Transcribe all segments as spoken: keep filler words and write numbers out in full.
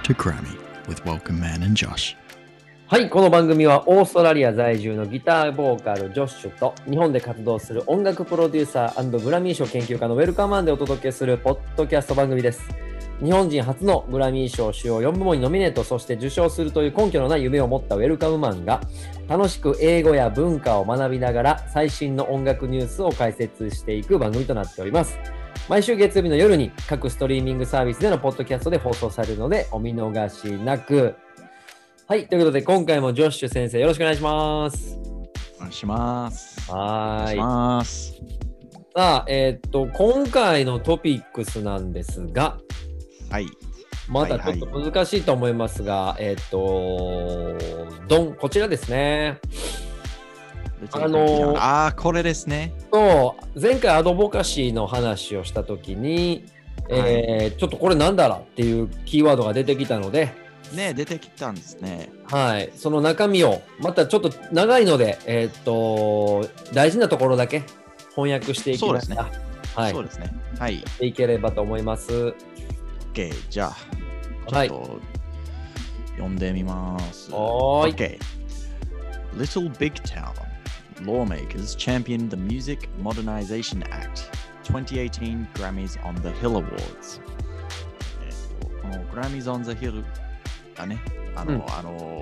to Grammy with Welcome Man and Josh. はい、この番組はオーストラリア在住のギターボーカルジョッシュと日本で活動する音楽プロデューサー&グラミー賞研究家のウェルカムマンでお届けするポッドキャスト番組です。日本人初のグラミー賞主要よん部門にノミネート、そして受賞するという根拠のない夢を持ったウェルカムマンが楽しく英語や文化を学びながら最新の音楽ニュースを解説していく番組となっております。毎週月曜日の夜に各ストリーミングサービスでのポッドキャストで放送されるのでお見逃しなく。はい、ということで今回もジョッシュ先生よろしくお願いします。 お願いします。 はーい。 お願いします。 さあ、えー、っと今回のトピックスなんですが、 はい。 まだちょっと難しいと思いますが、はいはい、えー、っとドンこちらですね。 あのー、あこれですね。 そう前回アドボカシーの話をしたときに、はい、えー、ちょっとこれなんだらっていうキーワードが出てきたので。 ね、出てきたんですね。 はい、その中身をまたちょっと長いので、えー、っと大事なところだけ翻訳していきました。 そうですね。はい、そうですね。はい。 いければと思います。 OK、じゃあ、ちょっと読んでみます。 はい。 OK。Little Big Town lawmakers championed the Music Modernization Act twenty eighteen Grammys on the Hill Awards。この Grammys on the Hillがね、あの、うん、あの、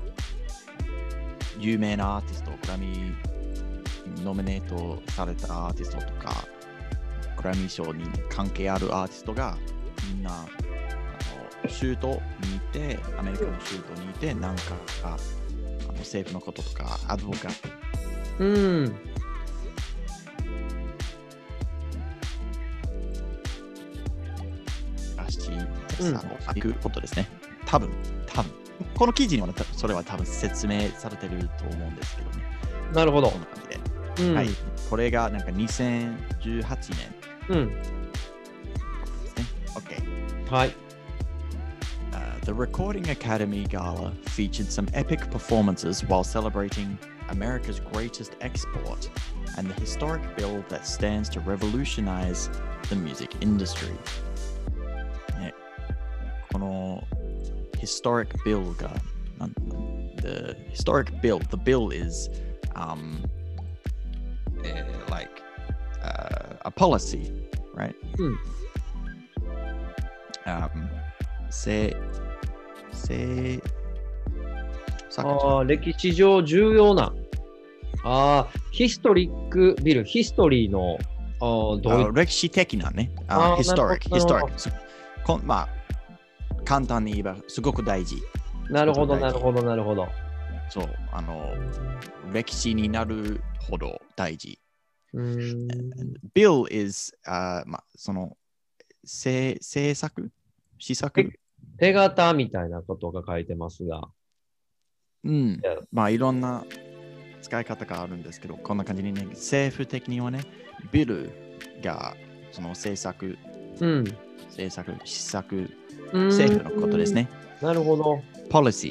有名なアーティスト、グラミーノミネートされたアーティストとか、グラミー賞に関係あるアーティストがみんなあの州都にいて、アメリカの州都にいて、なんかあの政府のこととか、アドボカット。 うん。 らしい、うん、行くことですね。多分、多分。この記事にはそれは多分説明されてると思うんですけどね。 なるほど。 こんな感じで。うん、はい。これがなんかにせんじゅうはちねん。 うん。 ですね。OK。 はい。 Uh, the Recording Academy Gala featured some epic performances while celebrating America's greatest export and the historic bill that stands to revolutionize the music industry. ね、この historic bill が、the historic bill, the bill is um, uh, like uh, a policy, right? Mm. Um, せ、せ、 あ歴史上重要な、あヒストリックビル、ヒストリーのあどういう歴史的なね、あヒストリック、ヒストリック。まあ、簡単に言えばすごく大事。 なるほど、なるほど、なるほど。 そう、あの、歴史になるほど大事。Bill is、uh, まあ、その、制作施策手形みたいなことが書いてますが。 うん。まあ、いろんな使い方があるんですけど、こんな感じにね、政府的にはね、ビルがその政策、 うん、 政策、施策、政府のことですね。 なるほど。 policy。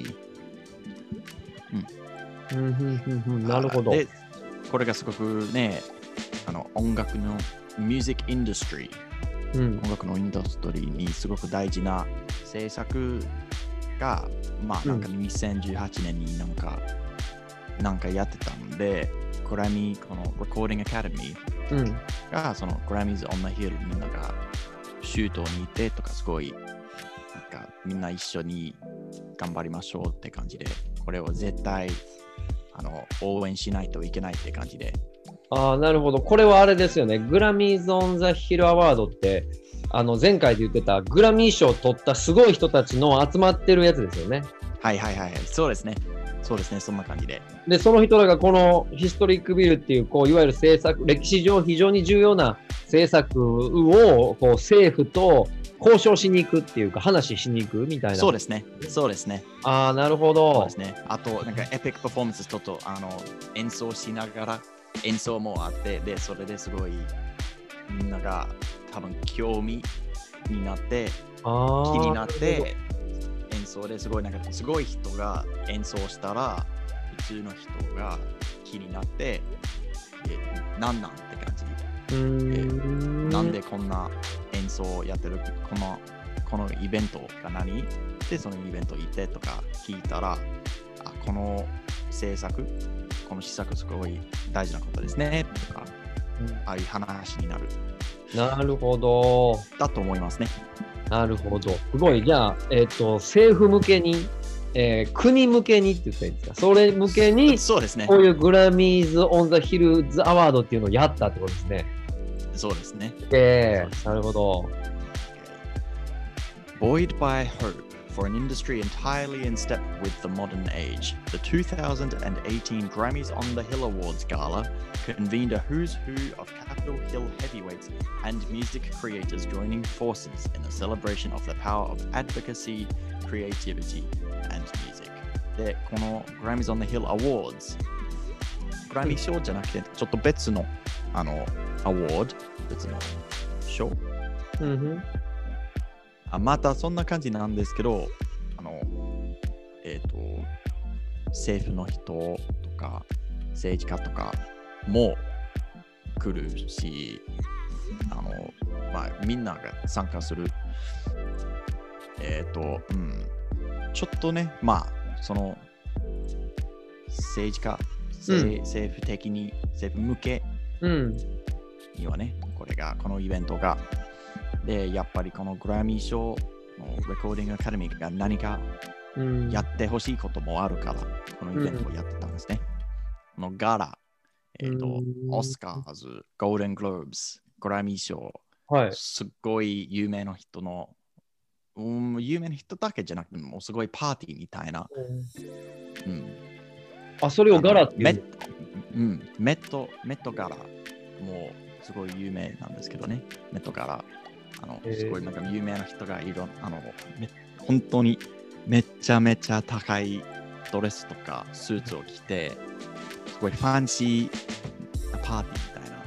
うん。うんうんうん、なるほど。 で、これがすごくね、あの音楽のミュージックインダストリー、うん、音楽のインダストリーにすごく大事な政策が、まあなんかにせんじゅうはちねんになんか、うん、なんかやってたんで、グラミー、この Recording Academy が、うん、その Grammys on the Hill みんなが州都にいてとかすごいなんかみんな一緒に頑張りましょうって感じで、これを絶対あの応援しないといけないって感じで。 ああ、なるほど。これはあれですよね。グラミーズ・オン・ザ・ヒル・アワードって、あの前回で言ってたグラミー賞を取ったすごい人たちの集まってるやつですよね。 はいはいはい、そうですね。そうですね、そんな感じで。 で、その人らがこのヒストリックビルっていう、こういわゆる政策、歴史上非常に重要な政策をこう政府と交渉しに行くっていうか、話しに行くみたいな。 そうですね。そうですね。 ああ、なるほど。 そうですね。あと、なんかエピックパフォーマンスちょっとあの演奏しながら、演奏もあって、で、それですごいみんなが多分興味になって、気になって、演奏ですごいなんかすごい人が演奏したら、普通の人が気になって、え、なんなんって感じ。 うーんなんでこんな演奏をやってる、このこのイベントが何で、そのイベント行ってとか聞いたら、あ、この制作、この施策すごい大事なことですねとか、うん、ああいう話になる。 なるほど。 だと思いますね。 なるほど。すごい。じゃあ、えっと、政府向けに、えー、国向けにって言ったらいいんですか？それ向けに、 そうですね。 こういうグラミーズ・オン・ザ・ヒルズ・アワードっていうのをやったってことですね。 そうですね。 えー、なるほど。 Buoyed by hope for an industry entirely in step with the modern age, the two thousand eighteen Grammys on the Hill Awards Gala convened a who's who of Capitol Hill heavyweights and music creators joining forces in a celebration of the power of advocacy, creativity, and music. で、この Grammys on the Hill Awards、グラミー賞じゃなくて、ちょっと別の、あの、アワード、別の賞。 うん、 あ、またそんな感じなんですけど、あの、えっと、政府の人とか、政治家とかも来るし、あの、まあ、みんなが参加する。えっと、うん、ちょっとね、まあ、その、政治家、政、うん、政府的に、政府向けにはね、うん、これが、このイベントが、で、やっぱりこのグラミー賞のレコーディングアカデミーが何かやってほしいこともあるから、このイベントをやってたんですね。このガラ、えっと、オスカーズ、ゴールデングローブス、グラミー賞、 はい、 すっごい有名な人の、うん、有名な人だけじゃなくて、もうすごいパーティーみたいな。うん、 あ、それをガラっていうメッ、うん、メット、メットガラ、もうすごい有名なんですけどね、メットガラ。あのすごいなんか有名な人がいる、あの本当にめちゃめちゃ高いドレスとかスーツを着て、すごいファンシーパーティーみたいな。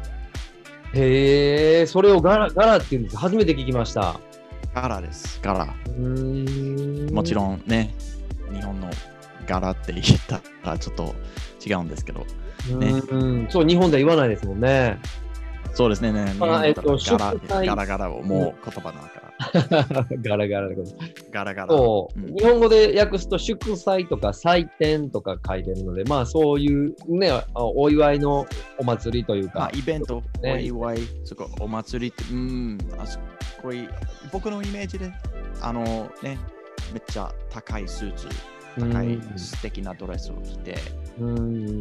へえ、それをガラ、ガラっていうんです。初めて聞きました。 ガラです、ガラ。うーん、もちろんね、日本のガラって言ったらちょっと違うんですけど、ね、 うん、そう、日本では言わないですもんね。 そうですね、ね、 まあえっと、 ガラガラガラをもう言葉だから。 ガラガラでこと。 ガラガラ。 そう、うん、日本語で訳すと祝祭とか祭典とか書いてるので、まあそういうね、お祝いのお祭りというか。まあ、 イベント、ね、お祝い、そこお祭りって、うん、あそこい僕のイメージで、あのね、めっちゃ高いスーツ、高い素敵なドレスを着て、うん、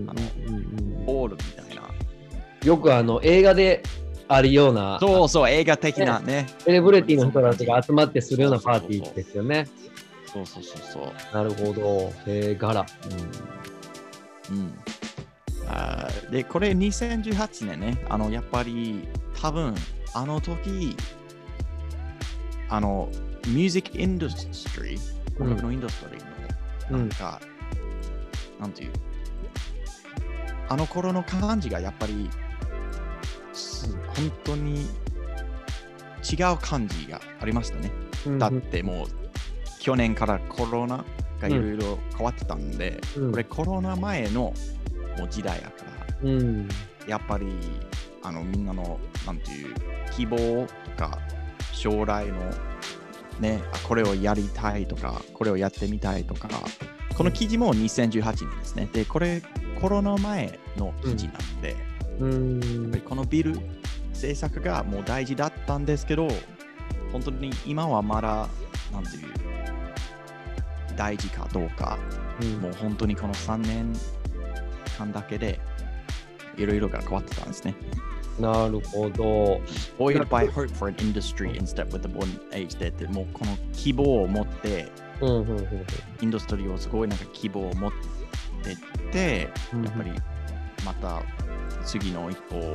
あの、ボールみたいな。 よくあの映画であるような、 そうそう、映画的なね。 セレブリティの人たちが集まってするようなパーティーですよね。 そうそうそうそう。 なるほど。えー、ガラ。 うん。うん、あで、これにせんじゅうはちねんね、あの、やっぱり多分、あの時、あの、ミュージックインダストリー、音楽のインダストリーの、なんか、うん、なんていう、あの頃の感じがやっぱり、本当に違う感じがありましたね。うん、だってもう去年からコロナがいろいろ変わってたんで、うん、これコロナ前のもう時代やから、うん、やっぱりあのみんなのなんていう希望とか将来のね、これをやりたいとかこれをやってみたいとか、この記事もにせんじゅうはちねんですね。で、これコロナ前の記事なんで、うん、やっぱりこのビル政策がもう大事だったんですけど、本当に今はまだなんていう大事かどうか、うん、もう本当にこのさんねんかんだけでいろいろが変わってたんですね。 なるほど。 Buoyed by hope for an industry in step with the modern age でってもうこの希望を持って、うんうんうんうん、インダストリーをすごいなんか希望を持ってって、うん、やっぱりまた次の一歩を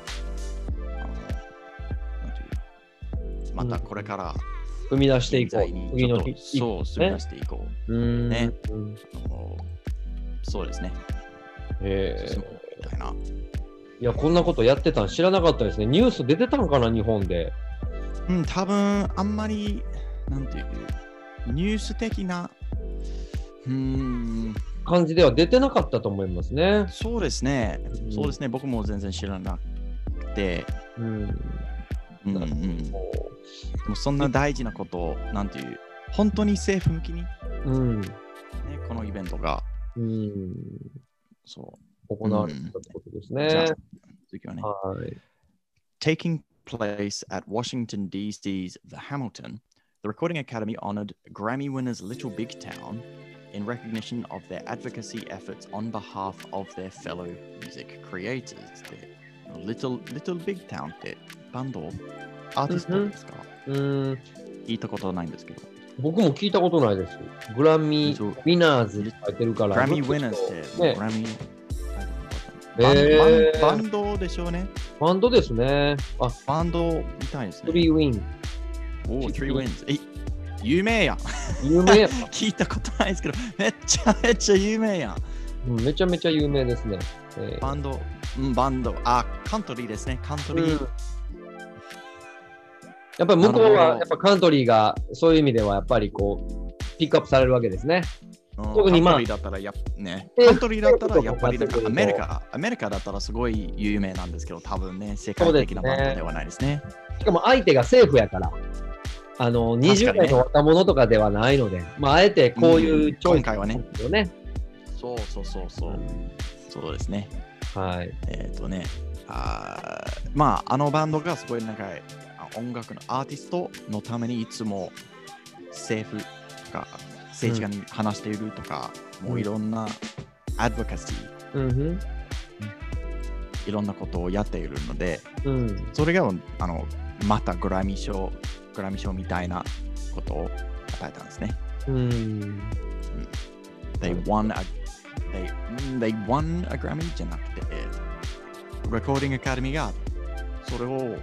またこれから踏み出していこう。 次のそう、踏み出していこう。うんね、うん、あのそうですね。 へえ。 みたいな。 いや、こんなことやってたん知らなかったですね。ニュース出てたのかな、日本で。 うん、多分あんまり、なんていう、ニュース的な、うーん、 感じでは出てなかったと思いますね。 そうですね。うん、そうですね。僕も全然知らなくて。うん。うんうん、 でもそんな大事なことを、なんていう、本当に政府向きに、 うんね、このイベントが、 うん、 そう。 行われたってことですね。 じゃあ、次はね。 はい。 Taking place at Washington, D C's The Hamilton, the Recording Academy honored Grammy winners Little Big Town in recognition of their advocacy efforts on behalf of their fellow music creators. で Little, Little Big Town ってバンド、アーティストですか？ うん、 聞いたことないんですけど。 僕も聞いたことないです。グラミー・ウィナーズって書いてるから。 グラミー・ウィナーズって、 ね、 グラミー、 バン、えー、 バンドでしょうね。 バンドですね。 あ、バンドみたいですね。 スリーウィン。 おお、スリーウィンズ。え、有名やん。 有名やん。 聞いたことないですけど、めっちゃめっちゃ有名やん。 うん、めちゃめちゃ有名ですね。 えー、バンド、うん、バンド。あ、カントリーですね。カントリー。うん、 やっぱり向こうはやっぱカントリーがそういう意味ではやっぱりこうピックアップされるわけですね。 うん、特にまあ、カントリーだったらやね、カントリーだったらやっぱりなんかアメリカ、アメリカだったらすごい有名なんですけど、多分ね、世界的なバンドではないですね。 しかも相手が政府やから、あのにじゅう代の若者とかではないので、ね、まああえてこういうチョイスはね、 よね。 そうそうそうそう、うん、そうですね。 はい。 えっ、ー、とね、あまああのバンドがすごいなんか音楽のアーティストのためにいつも政府とか政治家に話しているとか、うん、もういろんなアドボカシー、うん、いろんなことをやっているので、うん、それがあのまたグラミー賞、グラミー賞みたいなことを与えたんですね。うん、they won a they, they won a Grammy じゃなくて、Recording Academy がそれを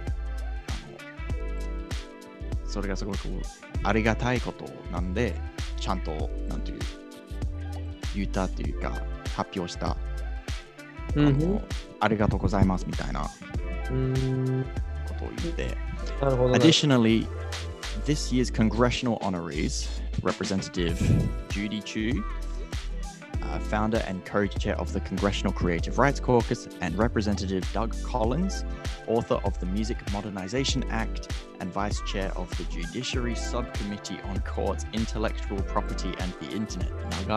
それがすごくありがたいことなんで、ちゃんとなんていう言ったっていうか発表した、うん、あのありがとうございますみたいなことを言って。 なるほどね。 Additionally, this year's congressional honorees, Representative Judy Chu, uh, founder and co-chair of the Congressional Creative Rights Caucus, and Representative Doug Collins, author of the Music Modernization Act and vice chair of the Judiciary Subcommittee on Courts, Intellectual Property and the Internet,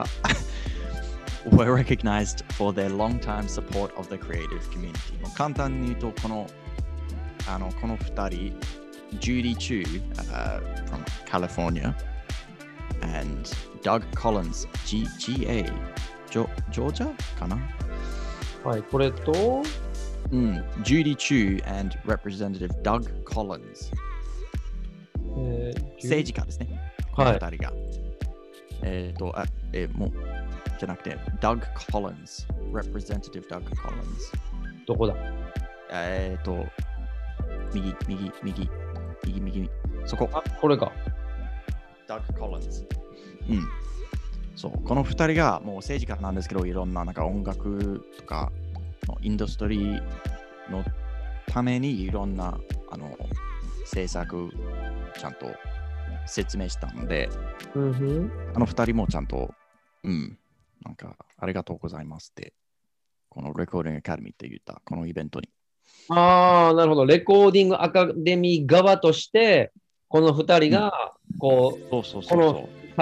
were recognized for their long-time support of the creative community. 簡単に言うと、このあのこのふたり、Judy Chu、uh, from California and Doug Collins、G、GA、ジョ、ジョージアかな？ はい、これと、 うん、Judy Chu and Representative Doug Collins、えー、政治家ですね。このふたりが。はい、えっ、ー、と、あ、えー、もう、じゃなくて、Doug Collins、Representative Doug Collins。 どこだ？ えっ、ー、と、右、右、右、右、右、そこ。 あ、これか。 Doug Collins。うん。そう、このふたりがもう政治家なんですけど、いろんななんか音楽とかのインダストリーのためにいろんなあの政策ちゃんと説明したので、うんふん、あのふたりもちゃんと、うん、なんかありがとうございますって、このレコーディングアカデミーって言ったこのイベントに。 ああ、なるほど。レコーディングアカデミー側として、このふたりが、こう、 うん、そうそうそうそう。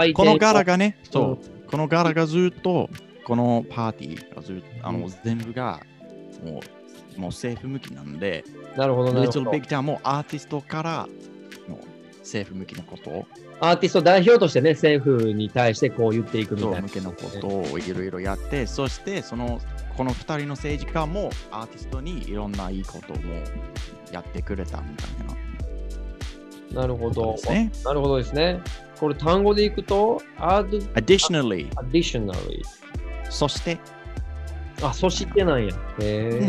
この柄がね、そう、うん、この柄がずっと、このパーティーがずっと、あの、うん、全部が、もう、もう政府向きなんで、 なるほど、なるほど。 Little Big Townもアーティストからの政府向きのことを、 アーティスト代表としてね、政府に対してこう言っていくみたいな、 そう、向けのことをいろいろやって、そして、その、このふたりの政治家もアーティストにいろんないいこともやってくれたみたいな。なるほど。ね、なるほどですね。これ単語でいくと、 add, additionally。 additionally。 そして。 あ、そしてなんや。へぇ、うん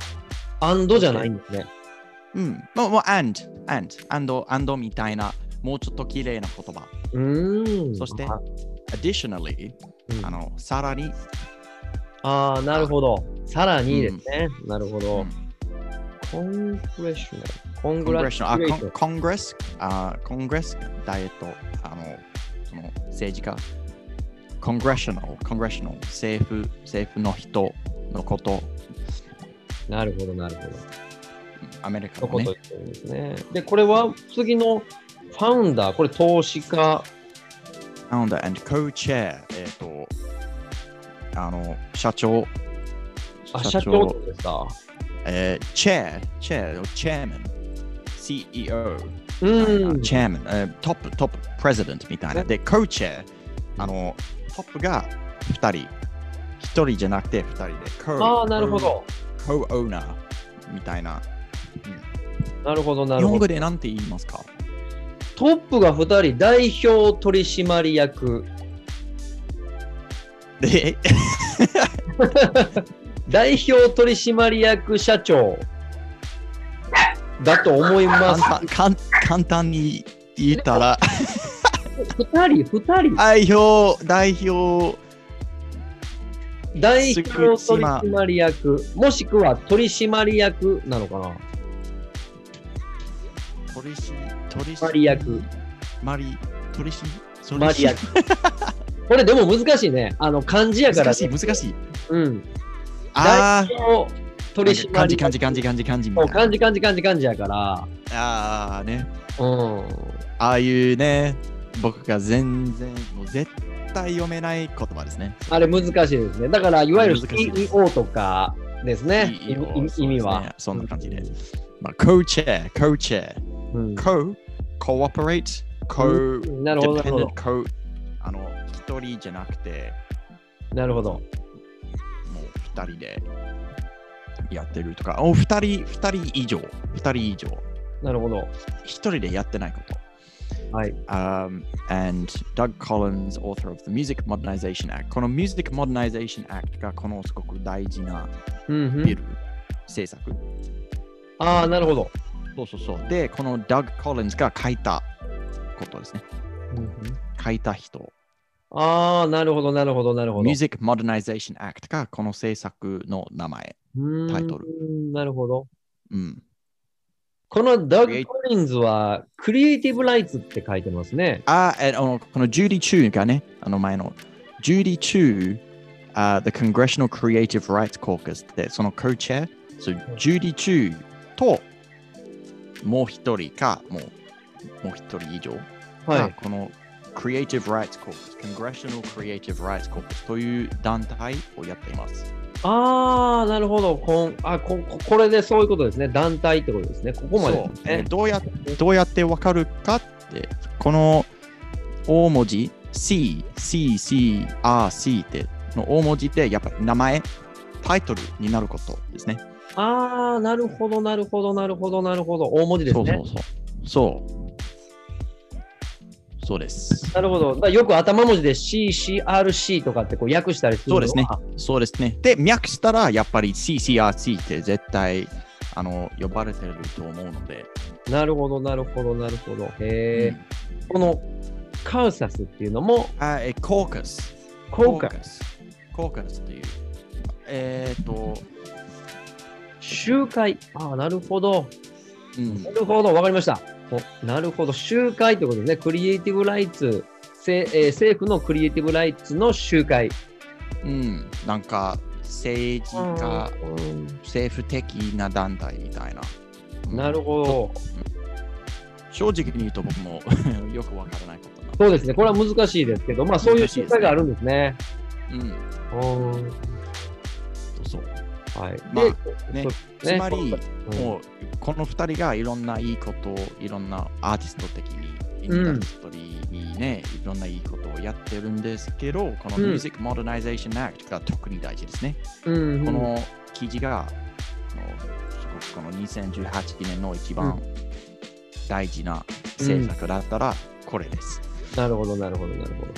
。and じゃないんですね。 うん。もう、もう、and、and、and、and みたいな、もうちょっと綺麗な言葉。 うん。 そして、additionally、うん、あの、さらに。 ああ、なるほど。さらにですね。うん、なるほど。コングレッショナル。コングレッショナル。 あ、コングレス、あ、コングレス、ダイエット、あの、その政治家。コングレッショナル、コングレッショナル、政府、政府の人のこと。 なるほど、なるほど。 アメリカのこのね。 とを言ってるんですね。で、これは次のファウンダー、これ投資家。 Founder and Co-Chair、えっ、と、あの、社長。 あ、社長ってことですか。 えー、チェア、チェア、チェアマン、シーイーオー、 うん。 チェアマン、えートップ、トップ、プレゼデントみたいな。で、コーチェア、あの、トップがふたり、ひとりじゃなくてふたりで、 ああ、なるほど。 コーオーナーみたいな。 なるほど、な日本るほど。 語で何て言いますか？ トップがふたり、代表取締役。 で、 代表取締役社長だと思います。 簡単簡簡単に言ったら、 ふたり、ふたり。 代表、代表、 代表取締役、もしくは取締役なのかな。 取締取締役。 マリ、取締締役。これでも難しいね。あの漢字やから。 難しい、難しい。 うん。 あ代表取締役。 漢字、漢字、漢字、漢字、漢字みたいな。 漢字、漢字、漢字、漢字やから。 ああね。 うん。 ああいうね、僕が全然、もう絶対読めない言葉ですね。 あれ難しいですね。だから、いわゆる シ難しいですーイーオー とかですね。 シーイーオー意味意味は。 そんな感じで。まあ、co-chair、co-chair、 うん、 co、cooperate、co、 うん、なるほど、なるほど。 co、あの、一人じゃなくて、 なるほど。 もう二人でやってるとか、お二人、二人以上、二人以上。 なるほど。 一人でやってないこと。 はい。 Um, and Doug Collins, author of the Music Modernization Act。この Music Modernization Act がこのすごく大事なうんうん、 ビル、政策。 ああ、なるほど。 そうそうそう。で、この Doug Collins が書いたことですね。 うんうん、 書いた人。 ああ、なるほど、なるほど、なるほど。 Music Modernization Act がこの政策の名前、タイトル。 なるほど。 うん。 このダッグ・コリンズはクリエイティブ・ライツって書いてますね。 あ、えあのこのジュディ・チューがね、あの前のジュディ・チュー、uh, The Congressional Creative Rights Caucus ってその co-chair、so, ジュディ・チューともう一人か、もうもう一人以上が、 はい、 この Creative Rights Caucus、Congressional Creative Rights Caucus という団体をやっています。 ああ、なるほど。こんあこ。これでそういうことですね。団体ってことですね。ここまで、ね。 そう、えー、どうや。どうやってわかるかって、この大文字 C、C、C、R、C っての大文字ってやっぱり名前、タイトルになることですね。 ああ、なるほど、なるほど、なるほど、なるほど。大文字ですね。 そうそうそう。そう。そうです。 なるほど。だよく頭文字で シーシーアールシー とかってこう訳したりするのは。 そうですね。そうですね。で、訳したらやっぱり シーシーアールシー って絶対あの呼ばれてると思うので。 なるほど、なるほど、なるほど。へえ、うん。このカウサスっていうのも。 あ、え、コーカス。 コーカス。 コーカスっていう。えっ、ー、と。 集会。ああ、なるほど。 うん、 なるほど、わかりました。なるほど、集会ということですね。クリエイティブライツ、えー、政府のクリエイティブライツの集会。 うん、なんか政治家、うん、政府的な団体みたいな。 なるほど。 正直に言うと僕もよくわからないことなので。 そうですね、これは難しいですけど、まあそういう集会があるんですね。 うん。うん。そう。はい。まあね、つまり、うん、もうこのふたりがいろんないいことを、いろんなアーティスト的に、インダストリーにね、うん、いろんないいことをやってるんですけど、この Music Modernization Act が特に大事ですね。 うん、 この記事が、このにせんじゅうはちねんの一番大事な政策だったら、これです、 うん。なるほど、なるほど、なるほど。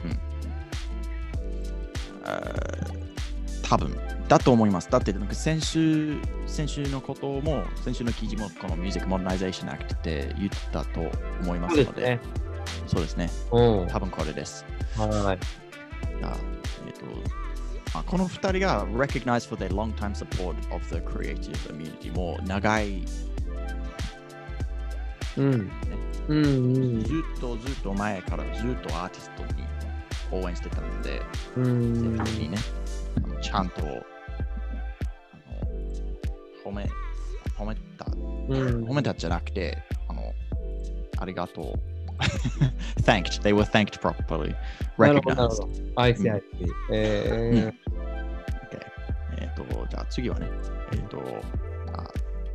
うん。多分だと思います。だって先週、先週のことも、先週の記事もこの Music Modernization Act って言ったと思いますので、そうですね。 うん、 多分これです。 はい。 あえっと、あこのふたりが recognized for their long-time support of the creative community もう長い、 うんねうんうん、 ずっとずっと前からずっとアーティストに応援してたので、 うんにね、ちゃんと褒め、 褒めた。 うん、 褒めたじゃなくて、あの、ありがとう。thanked. They were thanked properly. なるほど、なるほ Recognized. ど。I see, I see. えー Okay. えっと、じゃあ次はね、えっと、あ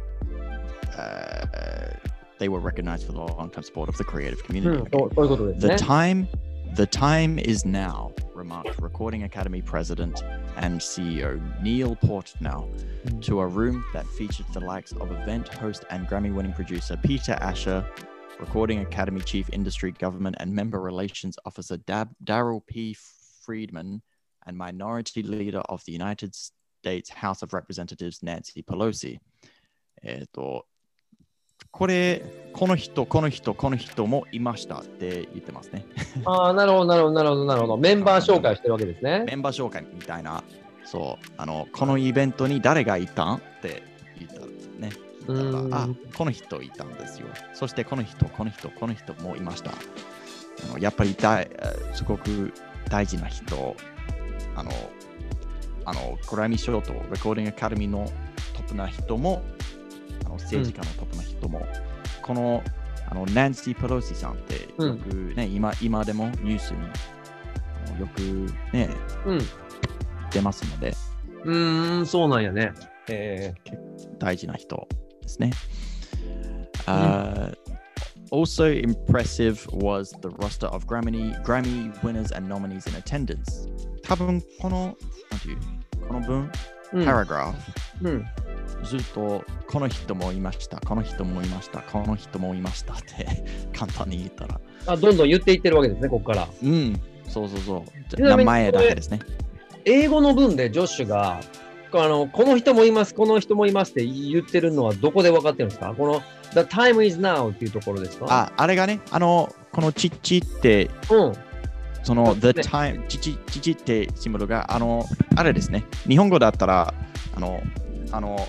uh, they were recognized for the long-term support of the creative う community. ん、そうそういうことです The ね。 time, the time is now, remarked Recording Academy President and C E O Neil Portnow to a room that featured the likes of event host and Grammy-winning producer Peter Asher, Recording Academy Chief Industry Government and Member Relations Officer Dab- Daryl P. Friedman, and Minority Leader of the United States House of Representatives Nancy Pelosi. えっと、これ、この人、この人、この人もいましたって言ってますね。 ああ、なるほど、なるほど、なるほど、なるほど。メンバー紹介してるわけですね。 メンバー紹介みたいな、そう、あの、このイベントに誰がいたんって言ったんですね。だからあ、この人いたんですよ。そしてこの人、この人、この人もいました。あのやっぱりだいすごく大事な人、あの、あのグラミー賞とレコーディングアカデミーのトップな人も、あの政治家のトップな人も、うん、このあのナンシー・ペロシさんってよくね、うん、今, 今でもニュースによくね、うん、出ますので。 うーん、そうなんやね。えー、大事な人ですね。Uh, also impressive was the roster of Grammy, Grammy winners and nominees in attendance. 多分この、なんていう、この文、うん、パラグラフ、うん、ずっとこの人もいました、この人もいました、この人もいましたって簡単に言ったら。 あ、どんどん言っていってるわけですね、ここから。 うん、そうそうそう。名前だけですね。 英語の文でジョッシュが、あのこの人もいます、この人もいますって言ってるのはどこで分かってるんですか？この The time is now っていうところですか？ あ、あれがね、あの、このチッチって、うん、その The time、チチチチってシンボルが、あの、あれですね、日本語だったら、あの、あの、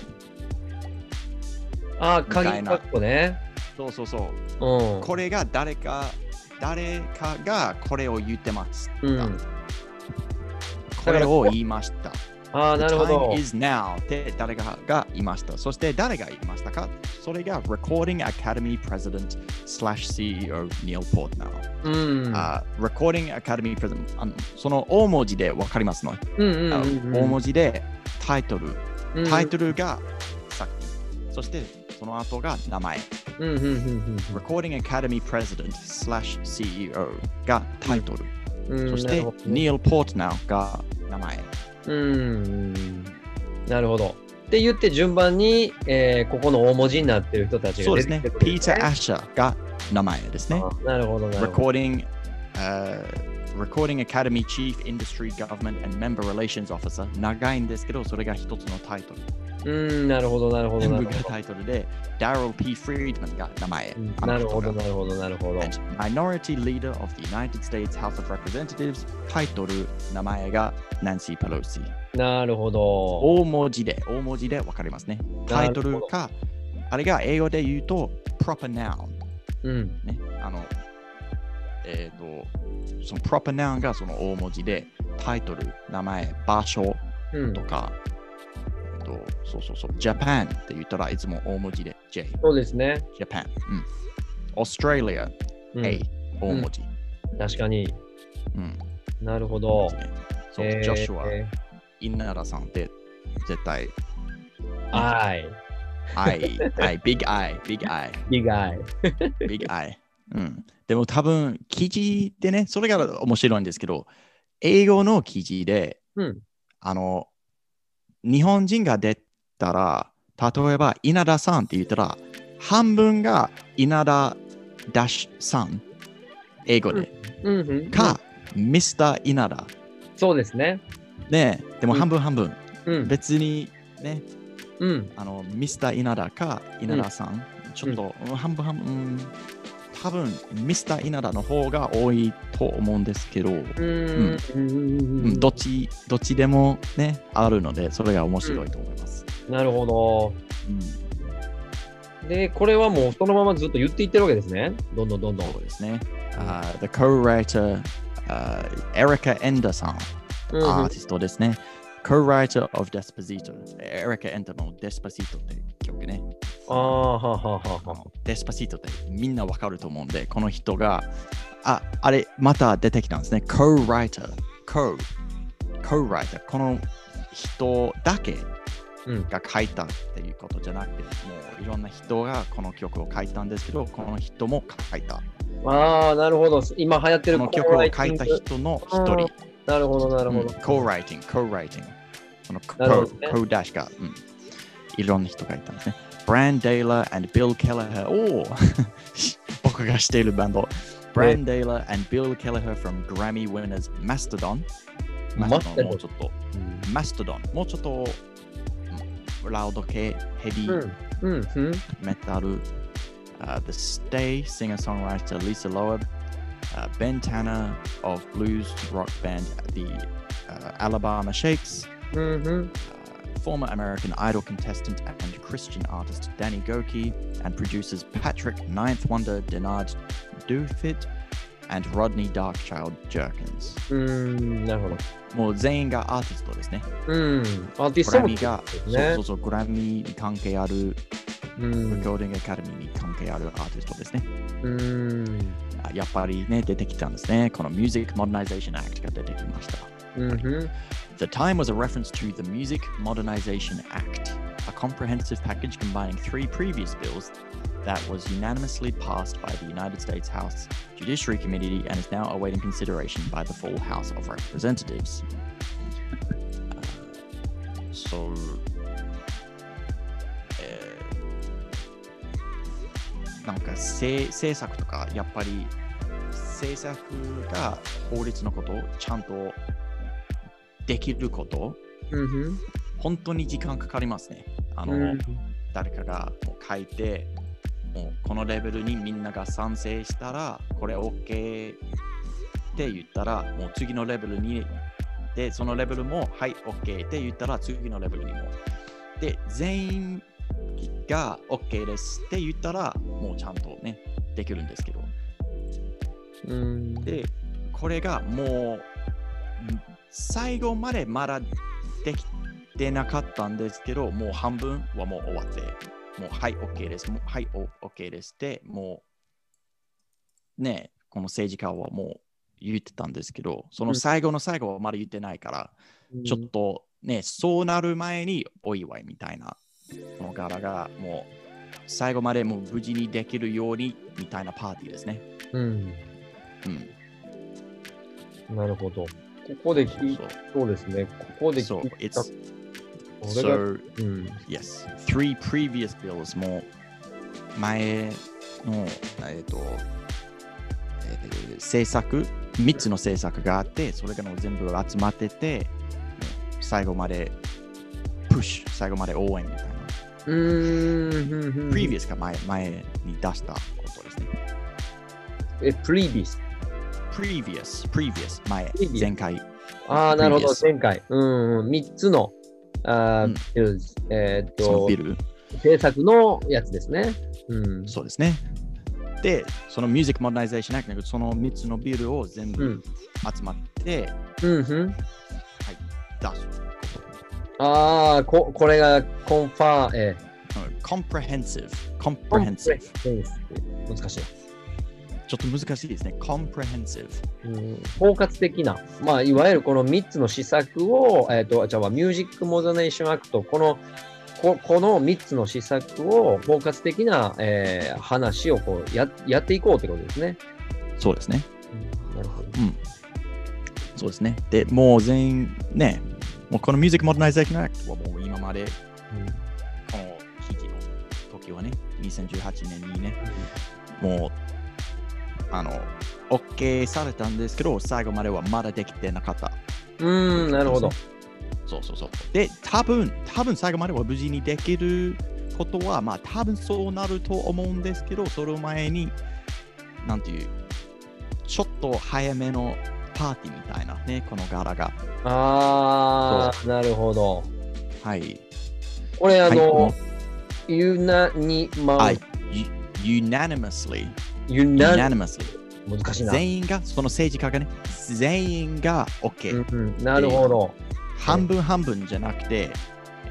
あ、鍵括弧ね。 そうそうそう、うん。これが誰か、誰かがこれを言ってます。うん、これを言いました。 ああ、なるほど。 The time is now って誰かが言いました。そして誰が言いましたか？それが Recording Academy President slash シーイーオー Neil Portnow。うん。Uh, Recording Academy President あのその大文字でわかりますの、うんうんうんうん、大文字でタイトル。タイトルがさっき。そしてその後が名前。うんうんうんうん、Recording Academy President slash シーイーオー がタイトル。うん、そして Neil Portnow が名前。 うーん、なるほど。って言って順番に、えー、ここの大文字になっている人たちが出てきてる、ね。そうですね。 ピーター・アッシャーが名前ですね。 なるほど、なるほど。 Recording, uh, Recording Academy Chief Industry Government and Member Relations Officer 長いんですけど、それが一つのタイトル。 うーん、なるほど、なるほど。 全部がタイトルで、Daryl P. Friedman が名前。 なるほど、なるほど、なるほど。 And Minority Leader of the United States House of Representatives タイトル、名前が Nancy Pelosi。 なるほど。 大文字で、大文字でわかりますね。タイトルか、あれが英語で言うと、proper noun。うん。ね、あの、えっと、その proper noun がその大文字で、タイトル、名前、場所とか、うんそうそうそう。Japan って言ったらいつも大文字で J。 そうですね。 Japan。うん。Australia、うん、A。大文字、 うん。確かに。うん。なるほど。 そう、えー、ジョシュは、えー、稲田さんって絶対。 I。 I。I。Big I。Big I。 Big I。 Big I。うん。でも多分、記事でね、それが面白いんですけど、英語の記事で、うん、あの、日本人が出たら、例えば稲田さんって言ったら、半分が稲田ダッシュさん、英語で。うんうんうん、か、ミスター稲田。 そうですね。 ねでも半分半分。うん、別にね、うん、あの、ミスター稲田か稲田さん、うん、ちょっと、うん、半分半分、うん、多分ミスター稲田の方が多いと思うんですけど、うんうんうん、どっちどっちでもねあるのでそれが面白いと思います。 うん、なるほど、うん。でこれはもうそのままずっと言っていってるわけですね。どんどんどんどん。 そうですね。Uh, the co-writer、uh, Erica Ender さん、うん、アーティストですね。co-writer of Despacito。Erica Ender の Despacito って曲ね。 ああ、はははは。 デスパシートってみんなわかると思うんで、この人が、あ、あれ、また出てきたんですね。co-writer。co。co-writer。この人だけが書いたっていうことじゃなくて、もういろんな人がこの曲を書いたんですけど、この人も書いた。 ああ、なるほど。今流行ってるこの曲を書いた人の一人。 なるほど、なるほど。 co-writing、co-writing。この co ダッシュが、うん、いろんな人がいたんですね。Brann Dailor and Bill Kelleher。おお僕がしているバンド。Brann Dailor and Bill Kelleher from Grammy winners Mastodon。Mastodon もうちょっと。Mastodon もうちょっとラウド系、ヘビー、メタル。Uh, the Stay singer-songwriter Lisa Loeb, uh, Ben Tanner of blues rock band the uh, Alabama Shakes, mm-hmm. uh, former American Idol contestant and Christian artist Danny Goki, and producers Patrick Ninth Wonder Denard Doofit and Rodney Darkchild Jerkins. なるほど。 もう全員がアーティストですね。 うん、アーティストもグラミーが、そうそうそう、グラミーに関係ある。レコーディングアカデミーに関係あるアーティストですね。 うんやっぱりね、出てきたんですね。この Music Modernization Act が出てきました。 Mm-hmm. The time was a reference to the Music Modernization Act, a comprehensive package combining three previous bills that was unanimously passed by the United States House Judiciary Committee and is now awaiting consideration by the full House of Representatives. Uh, so, uh, なんか政策とかやっぱり政策が法律のことをちゃんとできること、 mm-hmm. 本当に時間かかりますね。あの、mm-hmm. 誰かがもう書いてもうこのレベルにみんなが賛成したらこれ OK って言ったらもう次のレベルにでそのレベルもはい OK って言ったら次のレベルにもで全員が OK ですって言ったらもうちゃんとねできるんですけど、 うんでこれがもう最後までまだできてなかったんですけどもう半分はもう終わってもうはい OK ですもうはい OK ですってもうねこの政治家はもう言ってたんですけどその最後の最後はまだ言ってないから、うん、ちょっとねそうなる前にお祝いみたいなこの柄がもう最後までもう無事にできるようにみたいなパーティーですね。 うん。 うん。 なるほど。ここで聞いたそうですね。ここで聞いた。 So, mm. yes, three previous bills も前の、えっとえー、政策、みっつの政策があって、それがの全部集まってて、最後までプッシュ、最後まで応援みたいな。 うーん。 previous が前、前に出したことですね。 え、previous? previous, previous, 前、previous. 前回。 ああ、なるほど、前回。うん、みっつの。あうん、えー、っと、 そのビル政策のやつですね。うん、 そうですね。で、その Music Modernization Act そのみっつのビルを全部集まって、 うんうんうん、 はい、出す。 ああ、ここれがコンファー、えー、Comprehensive。Comprehensive。 難しい。 ちょっと難しいですね。Comprehensive。 うん、包括的な、まあ、いわゆるこのみっつの施策を、えーと、じゃあ、ミュージックモダネーションアクト、この、こ, このみっつの施策を包括的な、えー、話をこう や, やっていこうということですね。 そうですね。 うん、なるほど。 うん。そうですね。で、もう全員ね、もうこのミュージックモダナイゼーションアクトはもう今まで、うん、この記事の時はね、にせんじゅうはちねんにね、うん、もうあの、OK されたんですけど、最後まではまだできてなかった。 うーん、なるほど。 そうそうそう。で、多分、多分最後までは無事にできることは、まあ多分そうなると思うんですけど、その前に、なんていう、ちょっと早めのパーティーみたいなね、この柄が。 あー、なるほど。 はい。 これ、あの、はい、ユナニマはい。unanimously。 unanimously 難しいな。 全員が、その政治家がね、全員が OK。 うんうん、なるほど。 半分半分じゃなくて、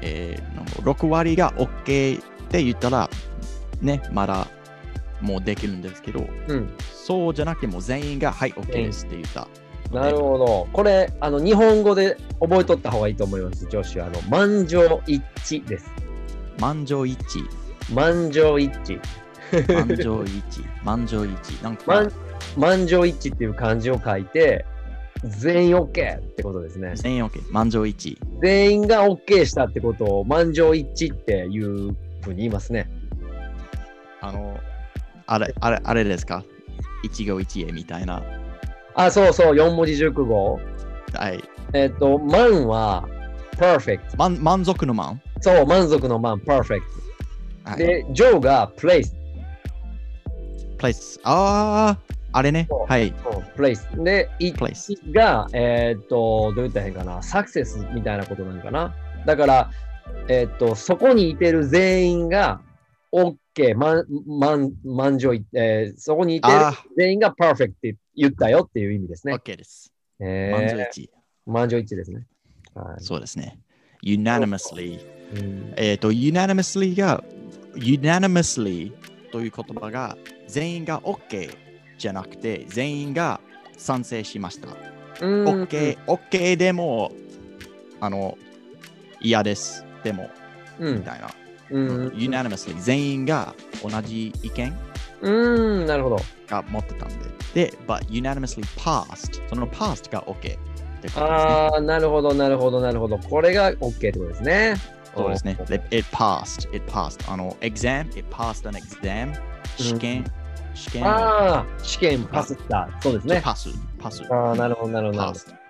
えー、ろく割が OK って言ったら、ね、まだもうできるんですけど、 うん、 そうじゃなくても全員がはい OK ですって言った。 なるほど。これ、あの日本語で覚えとった方がいいと思います、上司は。あの満場一致です。 満場一致。 満場一致。 満場一致。満場一致。なんか満満場一致っていう漢字を書いて、全員 OK ってことですね。 全員 OK。満場一致。 全員が OK したってことを満場一致っていうふうに言いますね。 あの、あれ、あれ、あれですか一期一会みたいな。 あ、そうそう、よん文字熟語。 はい。 えっ、ー、と、満は perfect。 満満足の満そう、満足の満、perfect。はい、で、上が place。 place。ああ、あれね。はい。 place。で、it place が、えっ、ー、と、どう言ったらいいかな、サクセスみたいなことなんかな。だから、えっ、ー、と、そこにいてる全員が OK、満、満、満場、えー、そこにいてる全員が perfect って言ったよっていう意味ですね。 OK です。 えー、 満場一致。 満場一致ですね。 はい、そうですね。unanimously。うん、えっ、ー、と、unanimously が、unanimously という言葉が全員が OK じゃなくて全員が賛成しました。OK、OK でも、あの、嫌です。でも、うん、みたいな。うん、unanimously 全員が同じ意見うん、なるほど。 が持ってたんで。で、but unanimously passed その passed が OK ってことですね。 ああ、なるほど、なるほど、なるほど。これが OK ってことですね。 そうですね。It, it passed. It passed. あの、exam, it passed an exam. 試験、うん、試験。 ああ、試験パスった。そうですね。 パス、パス。 ああ、なるほど、なるほど。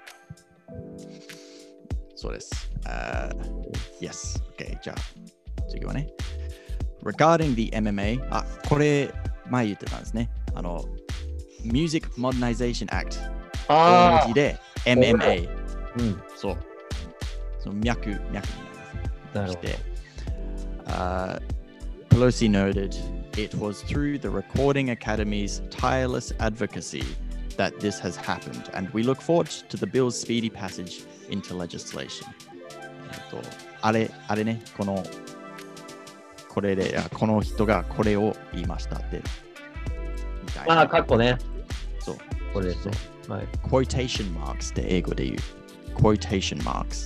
そうです。Uh, yes. OK. じゃあ、次はね。Regarding the エムエムエー、あ、これ、前言ってたんですね。あの、Music Modernization Act。大文字で エムエムエー。うん。そう。その脈、脈になります。Uh, Pelosi noted it was through the Recording Academy's tireless advocacy that this has happened, and we look forward to the bill's speedy passage into legislation. あれ、あれね、この、これで、この人がこれを言いましたって。みたいな。 ああ、かっこね。 そう。 これですね。 はい。quotation marks って英語で言う。quotation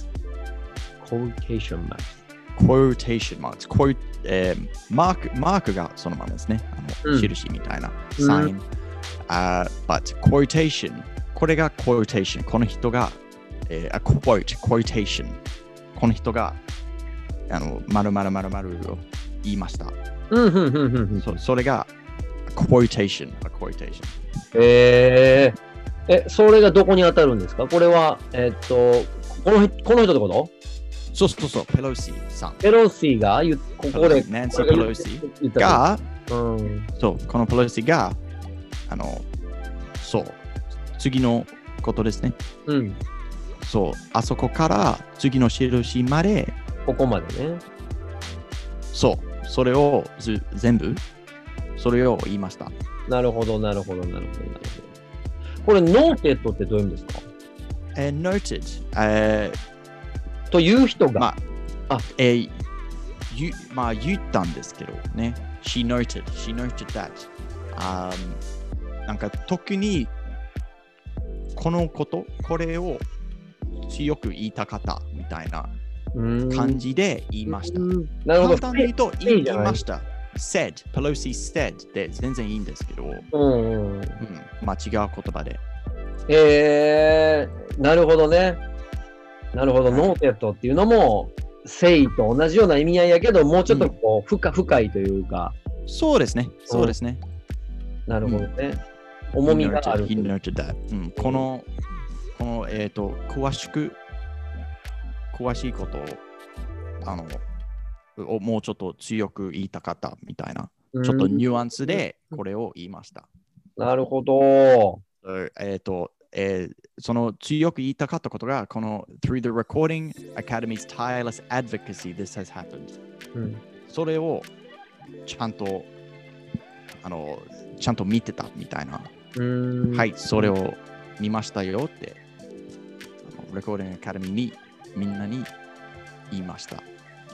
marks。quotation marks。quotation marks。quote、えー、マーク、マークがそのままですね。あの、うん、印みたいな。サイン。Uh, but quotation。これが quotation。この人が、えー、a quote、quotation。この人が、あの、まるまるまるまるを言いました。そ, それが quotation。a quotation。 えー、え、それがどこに当たるんですか？これは、えー、っと、この、この人ってこと？ そうそうそう、ペロシさん。 ペロシがここで。 ナンシー・ペロシが、うん、そう、このペロシが、あの、そう、次のことですね。うん。そう、あそこから次の印まで。 ここまでね。 そう、それをず全部、それを言いました。 なるほど、なるほど、なるほど、なるほど。これ、ノーテッドってどういう意味ですか？ えー、noted。えーという人が、 まあ、あえー、ゆまあ言ったんですけどね。She noted, she noted that、um, なんか特にこのこと、これを強く言いたかったみたいな感じで言いました。 なるほど。 簡単に言うと言いました。said, Pelosi said で全然いいんですけど、うんうんうん、まあ違う言葉で。 えー、なるほどね。なるほど、はい、ノーテッドっていうのも、sayと同じような意味合いやけど、もうちょっとこう、うん、深, 深いというか。 そうですね、そうですね。 うん、なるほどね。うん、重みがある。 He noted that、うん。この、この、えっ、ー、と、詳しく、詳しいことを、あの、をもうちょっと強く言いたかったみたいな、うん、ちょっとニュアンスでこれを言いました。 なるほど。 えっ、ー、と、えー、その強く言いたかったことが、この Through the Recording Academy's tireless advocacy, this has happened、うん。それをちゃんと、あの、ちゃんと見てたみたいな。うんはい、それを見ましたよって、Recording Academy にみんなに言いました。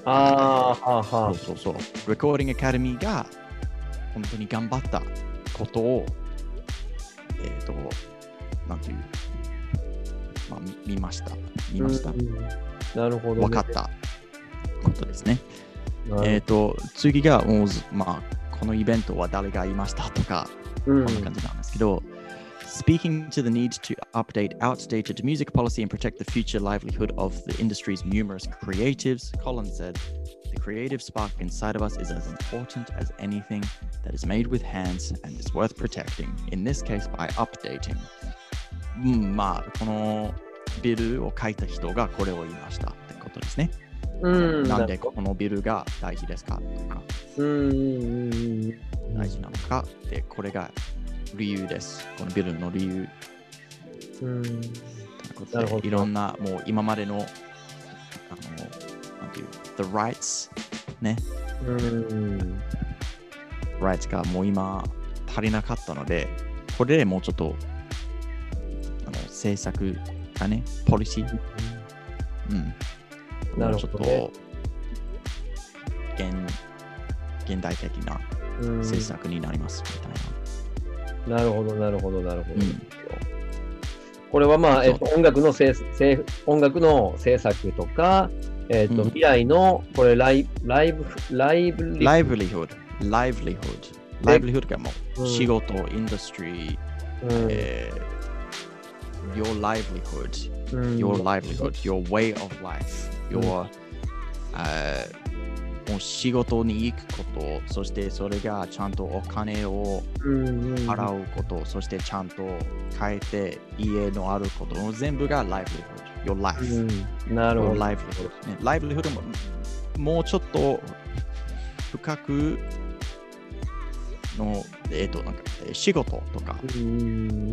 ああ、はあはあ。 そうそうそう。Recording Academy が本当に頑張ったことを、えっ、ー、と、なんていう、まあ、見ました。見ました。 なるほど、ね。 分かったことですね。えっ、ー、と、次がもう、まあ、このイベントは誰がいましたとか、こんな感じなんですけど、Speaking to the need to update outdated music policy and protect the future livelihood of the industry's numerous creatives, Collins said, The creative spark inside of us is as important as anything that is made with hands and is worth protecting, in this case by updating. うん、まあ、このビルを書いた人がこれを言いましたってことですね。うん、なんでこのビルが大事ですかとか、うん、大事なのかで、これが理由です。このビルの理由。うん。なるほど。いろんな、もう今までの、あの、なんていう、the rights ね。うん。rights がもう今足りなかったので、これでもうちょっと、あの、政策がね、ポリシー。うん。なるほど、ね。もうちょっと、現、現代的な政策になりますみたいな。 なるほど、なるほど、なるほど。うん、これはまあ、えっと、音楽のせせ音楽の制作とか、えっと、うん、未来のこれライライブライブライブリフード、ライブリフード、ライブリフードがもう仕事、うん、インダストリー、うんえー、your livelihood、うん、your livelihood、your way of life、your、うんuh, もう仕事に行くこと、そしてそれがちゃんとお金を払うこと、うんうん、そしてちゃんと変えて家のあること、全部が livelihood、your life、うん。なるほど。livelihood、ね。livelihood ももうちょっと深くの、えっ、ー、と、なんか仕事とか、うん、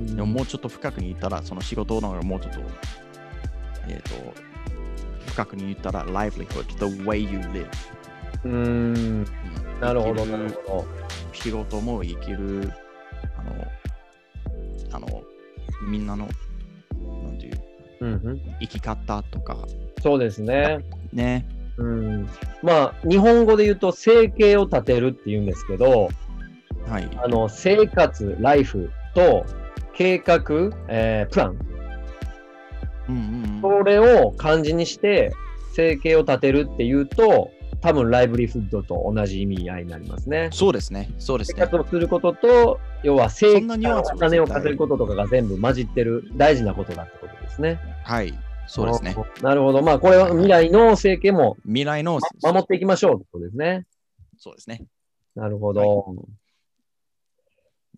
でももうちょっと深くに言ったら、その仕事のもうちょっと、えっ、ー、と、深くに言ったら livelihood、the way you live。うーん、 なるほど、なるほど。 仕事も生きる、あの、あの、みんなの、なんていう、うんうん、生き方とか。 そうですね。 ね。 うん。まあ、日本語で言うと、生計を立てるって言うんですけど、はい。あの、生活、ライフと、計画、えー、プラン。うんうんうん。それを漢字にして、生計を立てるっていうと、多分ライブリフッドと同じ意味合いになりますね。 そうですね。そうですね。 生活をすることと、要は生活お金を稼ぐこととかが全部混じってる大事なことだってことですね。 はい、そうですね。 なるほど。まあこれは未来の生計も未来の、 ま、守っていきましょうってことですね。 そうですね。 なるほど。はい、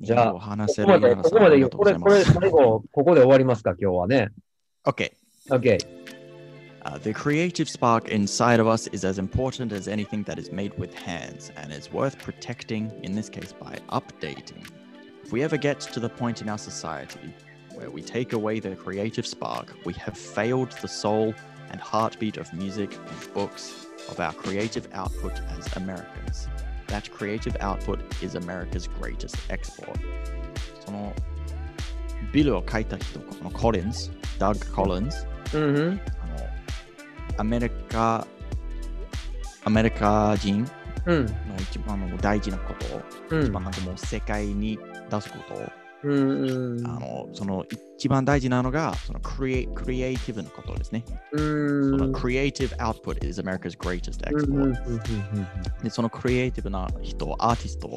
じゃあ、 話せるここまで、ここまで言う。これ、これ最後、ここで終わりますか、今日はね。 OK。 OK。 Uh, the creative spark inside of us is as important as anything that is made with hands and is worth protecting, in this case by updating. If we ever get to the point in our society where we take away the creative spark, we have failed the soul and heartbeat of music and books, of our creative output as Americans. That creative output is America's greatest export. そのビルを書いた人、このコリンズ、ダッグ・コリンズ、mm-hmm.アメリカ、アメリカ人の一番の大事なこと、うん、一番なんかもう世界に出すこと、うん、あのその一番大事なのがそのクリエ、クリエイティブなことですね。うん、そのクリエイティブアウトプット is America's greatest export、うん、でそのクリエイティブな人、アーティスト、うん、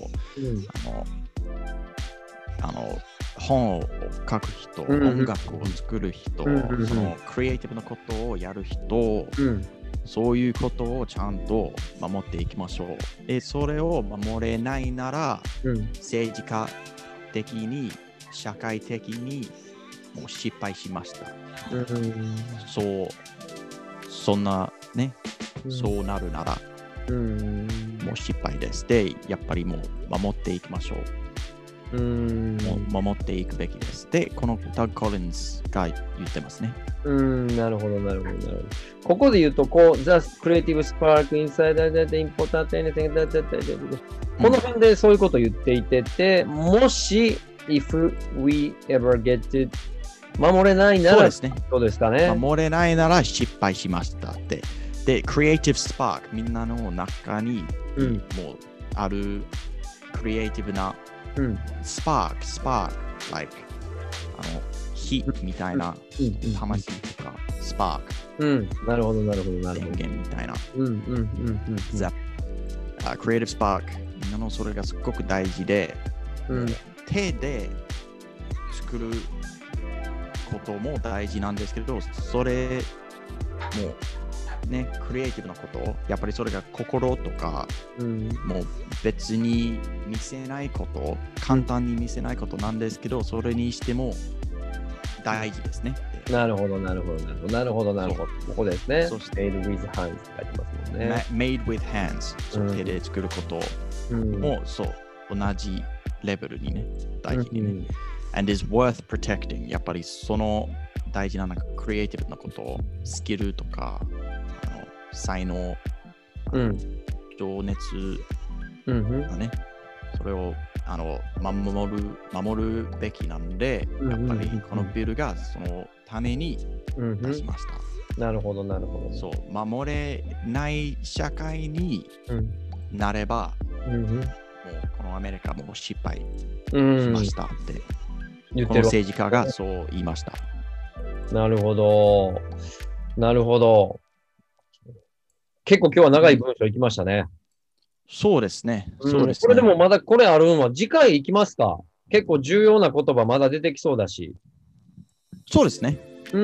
あのあの本を書く人、うん、音楽を作る人、うん、そのクリエイティブなことをやる人、うん、そういうことをちゃんと守っていきましょう。で、それを守れないなら、うん、政治家的に、社会的にもう失敗しました。うん、そう、そんなね、うん、そうなるなら、うん、もう失敗です。で、やっぱりもう守っていきましょう。うーん守っていくべきです。で、このダッグ・コリンズが言ってますね。 うーん、なるほど、なるほど、なるほど。ここで言うと、こう、The creative spark inside the important anything that that この辺でそういうことを言っていてて、うん、もし、if we ever get it 守れないなら、 そうですね。 そうですかね。 守れないなら失敗しましたって。 で、クリエイティブスパーク、みんなの中に、 うん、 もうあるクリエイティブなスパーク、スパーク、like、あの、火みたいな、魂とか、スパーク。 うん、なるほど、なるほど、なるほど。 電源みたいな。 うん、うん、うん、うん。 クリエイティブスパーク、みんなのそれがすごく大事で、 うん、 手で作ることも大事なんですけど、それもね、クリエイティブなこと、やっぱりそれが心とか、うん、もう別に見せないこと、簡単に見せないことなんですけど、それにしても大事ですね。 なるほど、なるほど、なるほど、なるほど、なるほど。ここですね。そして made with hands って書いてますもんね。 made with hands、そう、手で作ることも、うん、そう、同じレベルにね、大事にね。うん、and is worth protecting。やっぱりその大事ななんかクリエイティブなこと、スキルとか、あの才能、うん、情熱だね、うん、それをあの守る、守るべきなんで、うん、やっぱりこのビルがそのために出しました。 うん、なるほど、なるほど。 そう、守れない社会になれば、うん、もうこのアメリカも失敗しましたって、うん、この政治家がそう言いました。 なるほど。なるほど。結構今日は長い文章いきましたね。 そうですね。そうですね。 これでもまだこれあるのは次回行きますか？結構重要な言葉まだ出てきそうだし。 そうですね。 うん。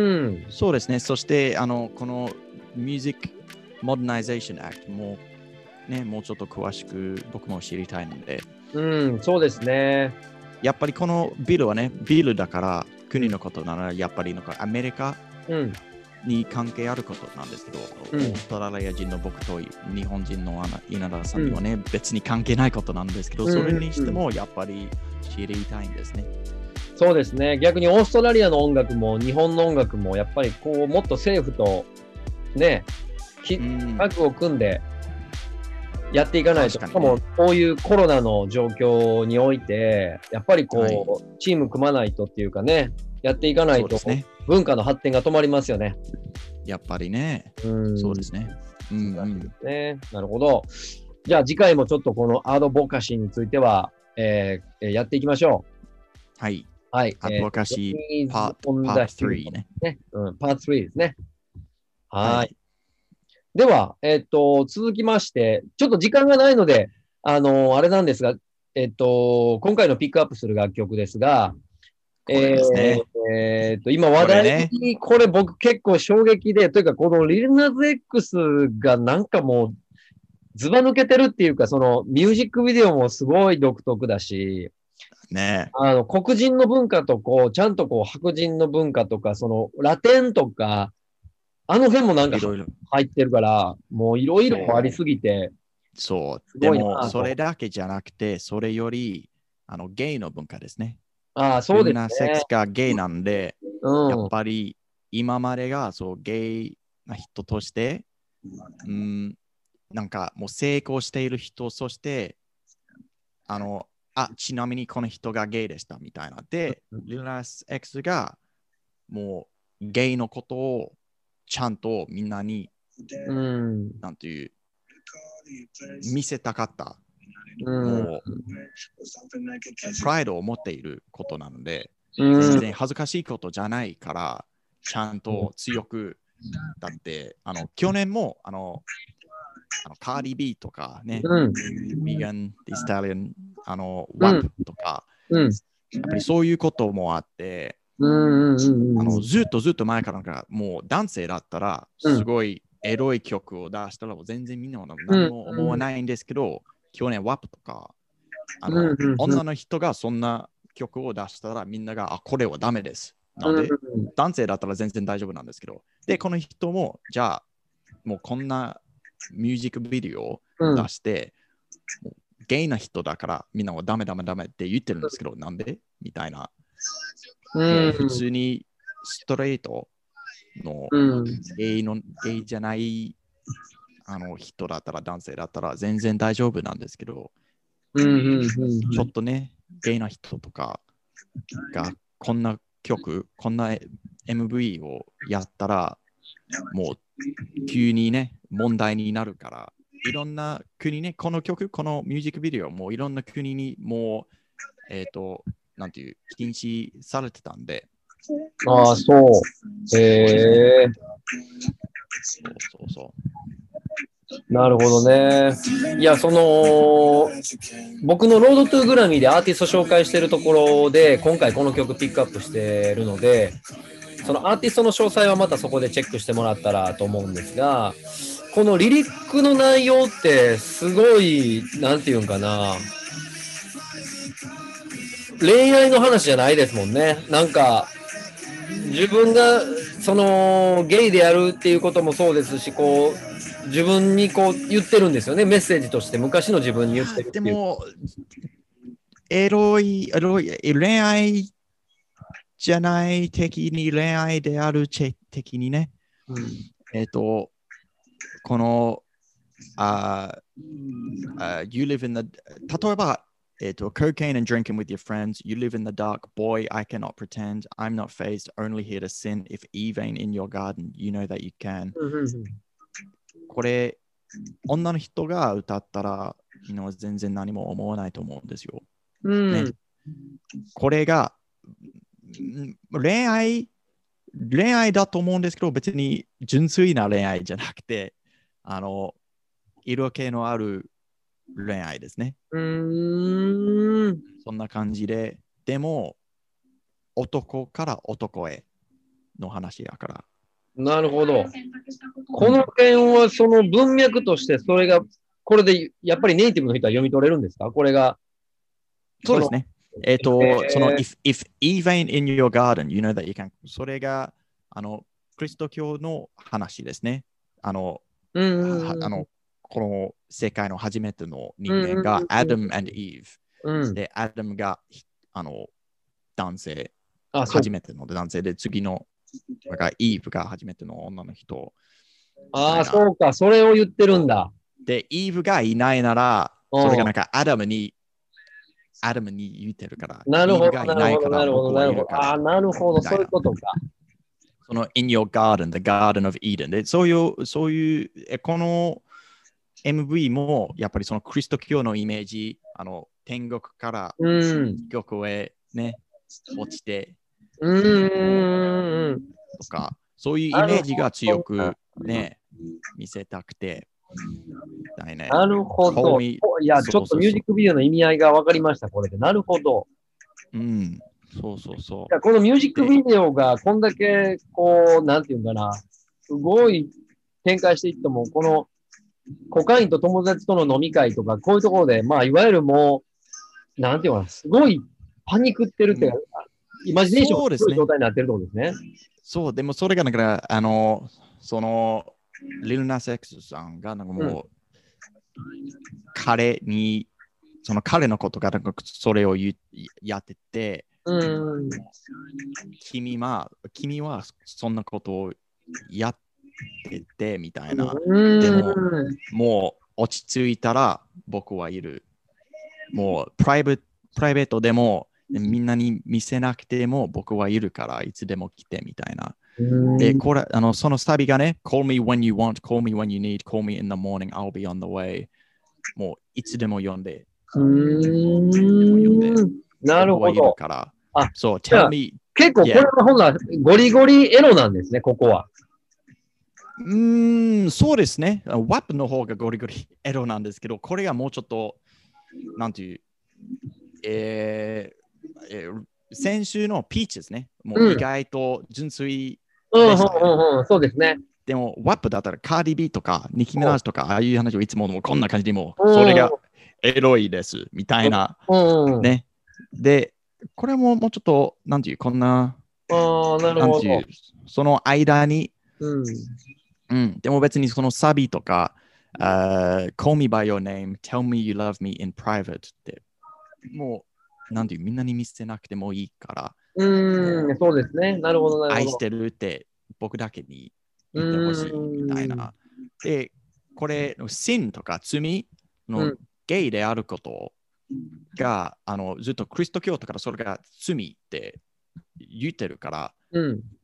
そうですね。そしてあのこの Music Modernization Act もね、もうちょっと詳しく僕も知りたいので。 うん、そうですね。 やっぱりこのビルはね、ビルだから国のことならやっぱりのかアメリカに関係あることなんですけど、うん、オーストラリア人の僕と日本人の稲田さんにはね、うん、別に関係ないことなんですけど、それにしてもやっぱり知りたいんですね。 そうですね。逆にオーストラリアの音楽も日本の音楽もやっぱりこうもっと政府とね、タッグを組んでやっていかないと、しかもこういうコロナの状況において、やっぱりこう、はい、チーム組まないとっていうかね、やっていかないと、ね、文化の発展が止まりますよね。 やっぱりね。うんそうですね。うん、うん、 ね。なるほど。じゃあ次回もちょっとこのアドボカシーについては、えー、やっていきましょう。はい。 はい。 アドボカシーパートスリーね。 ね、うん。パートスリーですね。はい。はいでは、えっと、続きまして、ちょっと時間がないので、あの、あれなんですが、えっと、今回のピックアップする楽曲ですが、 これですね。 えー、っと、今話題に、これ僕結構衝撃で、というか、このリルナズ X がなんかもう、ずば抜けてるっていうか、そのミュージックビデオもすごい独特だし、 ね、 あの黒人の文化とこう、ちゃんとこう白人の文化とか、そのラテンとか、あの辺もなんか入ってるから、もういろいろありすぎて。 そう。でも、それだけじゃなくて、それより、あの、ゲイの文化ですね。 ああ、そうですね。 みんなセックスがゲイなんで、うん、やっぱり今までがそうゲイな人として、うん、なんかもう成功している人、そして、あの、あ、ちなみにこの人がゲイでしたみたいな。で、リルナス X がもうゲイのことをちゃんとみんなに、うん、なんていう、見せたかった。うん、もう、プライドを持っていることなので、うん、全然恥ずかしいことじゃないから、ちゃんと強く、だって、あの、去年も、あの、あのカーディビーとかね、うん、ビガン、ディスタリアン、あの、ワップとか、うん、やっぱりそういうこともあって、あのずっとずっと前からかもう男性だったらすごいエロい曲を出したら全然みんな何も思わないんですけど、去年ワップとかあの女の人がそんな曲を出したらみんながあこれはダメです。なので男性だったら全然大丈夫なんですけど、でこの人もじゃあもうこんなミュージックビデオを出して、もうゲイな人だからみんなはダメダメダメって言ってるんですけど、なんでみたいな。もう普通にストレートのゲイの、ゲイじゃないあの人だったら男性だったら全然大丈夫なんですけど、ちょっとね、ゲイな人とかがこんな曲、こんな エムブイ をやったらもう急にね、問題になるから、いろんな国ね、この曲、このミュージックビデオもいろんな国にもう、えっ、ー、と、なんていう、禁止されてたんで。 ああ、そう。へえ。 そうそうそう。 なるほどね。いや、その、僕のロードトゥーグラミーでアーティスト紹介してるところで、今回この曲ピックアップしてるので、そのアーティストの詳細はまたそこでチェックしてもらったらと思うんですが、このリリックの内容ってすごい、なんていうんかな、恋愛の話じゃないですもんね。なんか、自分がそのゲイであるっていうこともそうですし、こう自分にこう言ってるんですよね、メッセージとして昔の自分に言ってるっていう。 でもエロい、エロい、恋愛じゃない的に恋愛である的にね、うん、えっ、ー、とこのあ、uh, uh, you live in the 例えばえっと、cocaine and drinking with your friends. You live in the dark. Boy, I cannot pretend. I'm not phased. Only here to sin. If Eve ain't in your garden, you know that you can. これ、女の人が歌ったら、you know, 全然何も思わないと思うんですよ。 うんね、これが恋愛、恋愛だと思うんですけど、別に純粋な恋愛じゃなくて、あの、色気のある恋愛ですね。 うーん。 そんな感じで、でも、男から男への話やから。 なるほど。この点はその文脈としてそれがこれでやっぱりネイティブの人は読み取れるんですか？これが。 そうですね。えっ、ー、と、えー、その if, if Eve ain't in your garden, you know that you can. それがあのキリスト教の話ですね。あの、 うんうんうん、 あのこの世界の初めての人間が Adam and Eve、うん、で、Adam があの男性、初めての男性で、次のだから Eve が初めての女の人。 ああ、そうか、それを言ってるんだ。 で、Eve がいないなら、それがなんか Adam に、Adam に言ってるから、 なるほど、 Eve がいないから僕はいるから。 ああ、なるほど、そういうことか。 その In your garden, the garden of Eden で、そういう、そういう、この エムブイ もやっぱりそのクリスト教のイメージ、あの天国から地獄へね、落ちて、 うーんとか、そういうイメージが強くね、見せたくて。 ね、なるほど。いや、ちょっとミュージックビデオの意味合いが分かりました、これで。なるほど。 うん、そうそうそう。いやこのミュージックビデオがこんだけ、こう、なんていうんかな、すごい展開していっても、このコカインと友達との飲み会とか、こういうところで、まあ、いわゆるもう、なんていうかな、すごいパニックってるっていうか、うん、イマジネーションがすごい状態になってるってことですね。 そう、でもそれがだから、あの、その、リルナセックスさんがなんかもう、うん、彼に、その彼のことがなんかそれを言やってて、 うん、 君は、君はそんなことをやっててみたいな。 うん、 でも、もう落ち着いたら僕はいる。もうプライベ、プライベートでもみんなに見せなくても僕はいるからいつでも来てみたいな。で、これ、あの、そのサビがね、Call me when you want, call me when you need, call me in the morning, I'll be on the way. もういつでも読んで。 うーん。なるほど。 あ、そう、tell me. 結構これはほんならゴリゴリエロなんですね、ここは。 うーん、そうですね。ワップの方がゴリゴリエロなんですけど、これがもうちょっと、なんていう、えーえー、先週のピーチですね。もう意外と純粋でした、ね。 うんうんうんうん、そうですね。 でも、ワップだったらカーディビーとか、ニキミナージとか、ああいう話をいつもこんな感じでも、それがエロいです、みたいな。ね。で、これももうちょっと、なんていう、こんな、 あなるほど。 その間に、 うんうん、でも別にそのサビとか、uh, Call me by your name, tell me you love me in private って、もう、なんていう、みんなに見せなくてもいいから、 うん、そうですね。なるほど、なるほど。 愛してるって僕だけに言ってほしいみたいな。で、これ、sin とか罪のゲイであることが、あのずっとキリスト教とかそれが罪って言ってるから、 うん、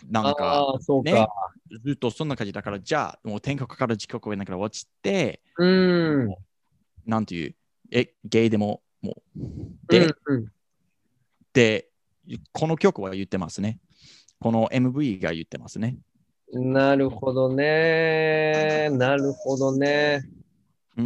なんか、 ああ、そうね、 か。 ずっとそんな感じだから、じゃあ、もう天国から地獄へだから落ちて、 うん。 なんていう、え、ゲイでも、もう、で、 うんうん、 で、この曲は言ってますね。この エムブイ が言ってますね。 なるほどね。なるほどね。 うん。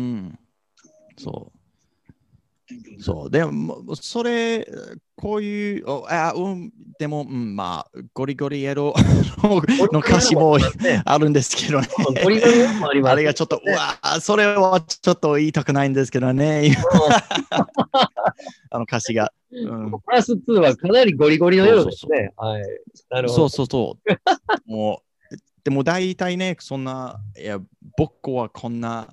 そう。そう。でも、それ、こういう、おあうん、でも、うん、まあ、ゴリゴリエロの歌詞もね、 あるんですけどね。 ゴリゴリもあります、ね。 あれがちょっと、うわ、それはちょっと言いたくないんですけどね。あの歌詞が。うん、 プラスにはかなりゴリゴリのようですね。 そうそうそうはい。なるほど。 そうそうそう。もう、でも大体ね、そんな、いや、僕はこんな、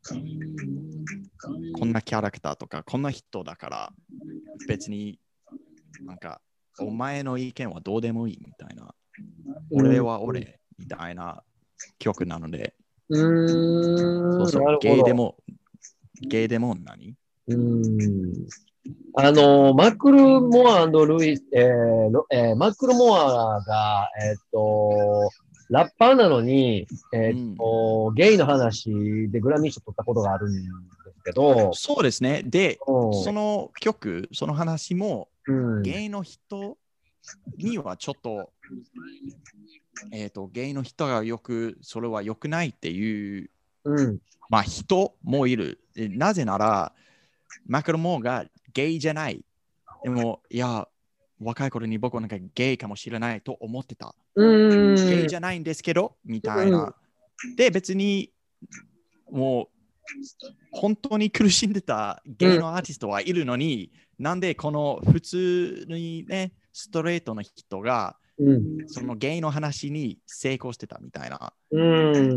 こんなキャラクターとか、こんな人だから、別になんか、お前の意見はどうでもいいみたいな。俺は俺みたいな曲なので。 うーん、 そうそう、 なるほど。 ゲイでも、ゲイでも何うーん。あの、マクルモアルイス、えーロえーマクルモアが、えーっと、ラッパーなのに、えーっと、ゲイの話でグラミー賞取ったことがあるんですけど、 そうですね。で、 うんその曲、その話も、 うん、 ゲイの人にはちょっと、えっ、と、ゲイの人がよく、それは良くないっていう、 うん、 まあ人もいる。なぜなら、マクロモーがゲイじゃない。でも、いや、若い頃に僕はなんかゲイかもしれないと思ってた。 うん、 ゲイじゃないんですけど、みたいな。で、別に、もう、本当に苦しんでたゲイのアーティストはいるのに、うん、なんでこの普通にね、ストレートの人が、うん、そのゲイの話に成功してたみたいな。うん、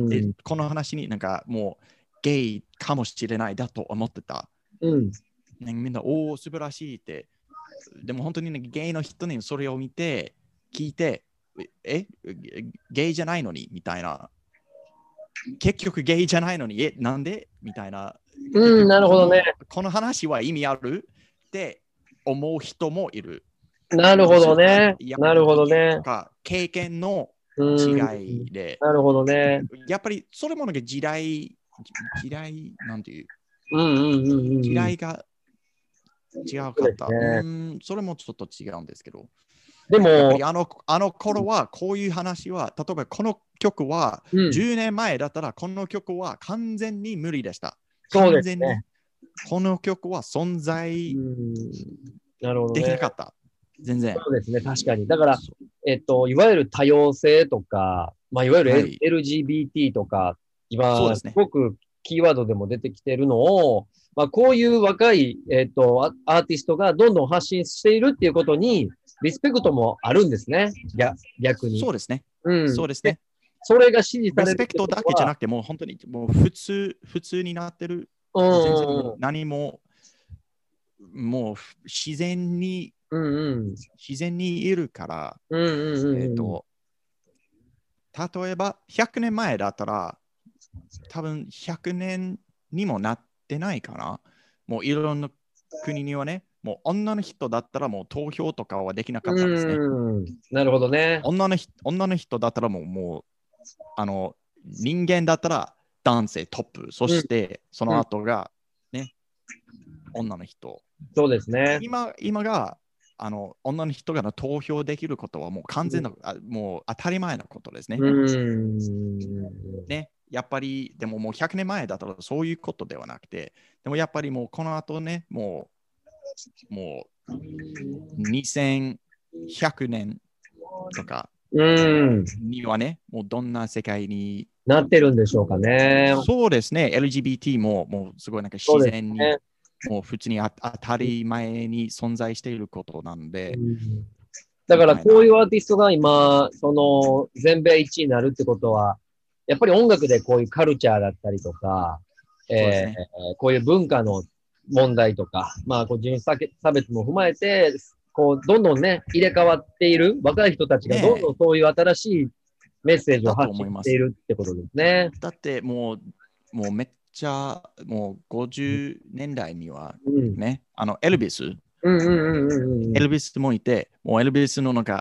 で、この話になんかもうゲイかもしれないだと思ってた。うん、みんな、おお、素晴らしいって。でも本当に、ね、ゲイの人にそれを見て、聞いて、え、ゲイじゃないのにみたいな。結局ゲイじゃないのに、え、なんでみたいな。 うん、なるほどね。 この話は意味あるって思う人もいる。 なるほどね。なるほどね。 経験の違いで。 なるほどね。 やっぱりそれもなんか時代、時代、なんていう。 うんうんうんうん、 時代が違うかった。う、ね、うん、それもちょっと違うんですけど。 でも、 やっぱりあのあの頃はこういう話は、例えばこの曲はじゅうねんまえだったらこの曲は完全に無理でした。完全にこの曲は存在できなかった。全然。 そうですね、確かに。だから、えっと、いわゆる多様性とか、まあ、いわゆる、L はい、エルジービーティー とか、今、すごくキーワードでも出てきているのを、まあ、こういう若い、えっと、アーティストがどんどん発信しているっていうことに、リスペクトもあるんですね、逆に。 そうですね。 うん、 そうですね。 それが支持される。 リスペクトだけじゃなくて、もう本当にもう普通、普通になってる。 うん、 全然もう何も、もう自然に、 うんうん、 自然にいるから、 うんうんうん、 えっと、例えばひゃくねんまえだったら、多分ひゃくねんにもなってないかな。もういろんな国にはね、もう女の人だったらもう投票とかはできなかったんですね。 なるほどね。 女の人、女の人だったらもう、もうあの人間だったら男性トップ、そしてその後がね、うん、女の人。 そうですね。 今、今があの女の人が投票できることはもう完全な、うん、もう当たり前のことですね。 うんね、やっぱりでももうひゃくねんまえだったらそういうことではなくて、でもやっぱりもうこの後ね、もうもうにせんひゃくねんとかにはね、もうどんな世界になってるんでしょうかね。 そうですね、エルジービーティー ももうすごいなんか自然に、ね、もう普通に当たり前に存在していることなんで。 うん、だからこういうアーティストが今、その全米いちいになるってことは、やっぱり音楽でこういうカルチャーだったりとか、えーね、こういう文化の問題とか、まあ、こう人種差別も踏まえて、こうどんどんね、入れ替わっている若い人たちがどんどんそういう新しいメッセージを発信しているってことですね。 だってもう、もうめっちゃ、もうごじゅうねんだいにはね、うん、あのエルビス、エルビスもいて、もうエルビスのなんか、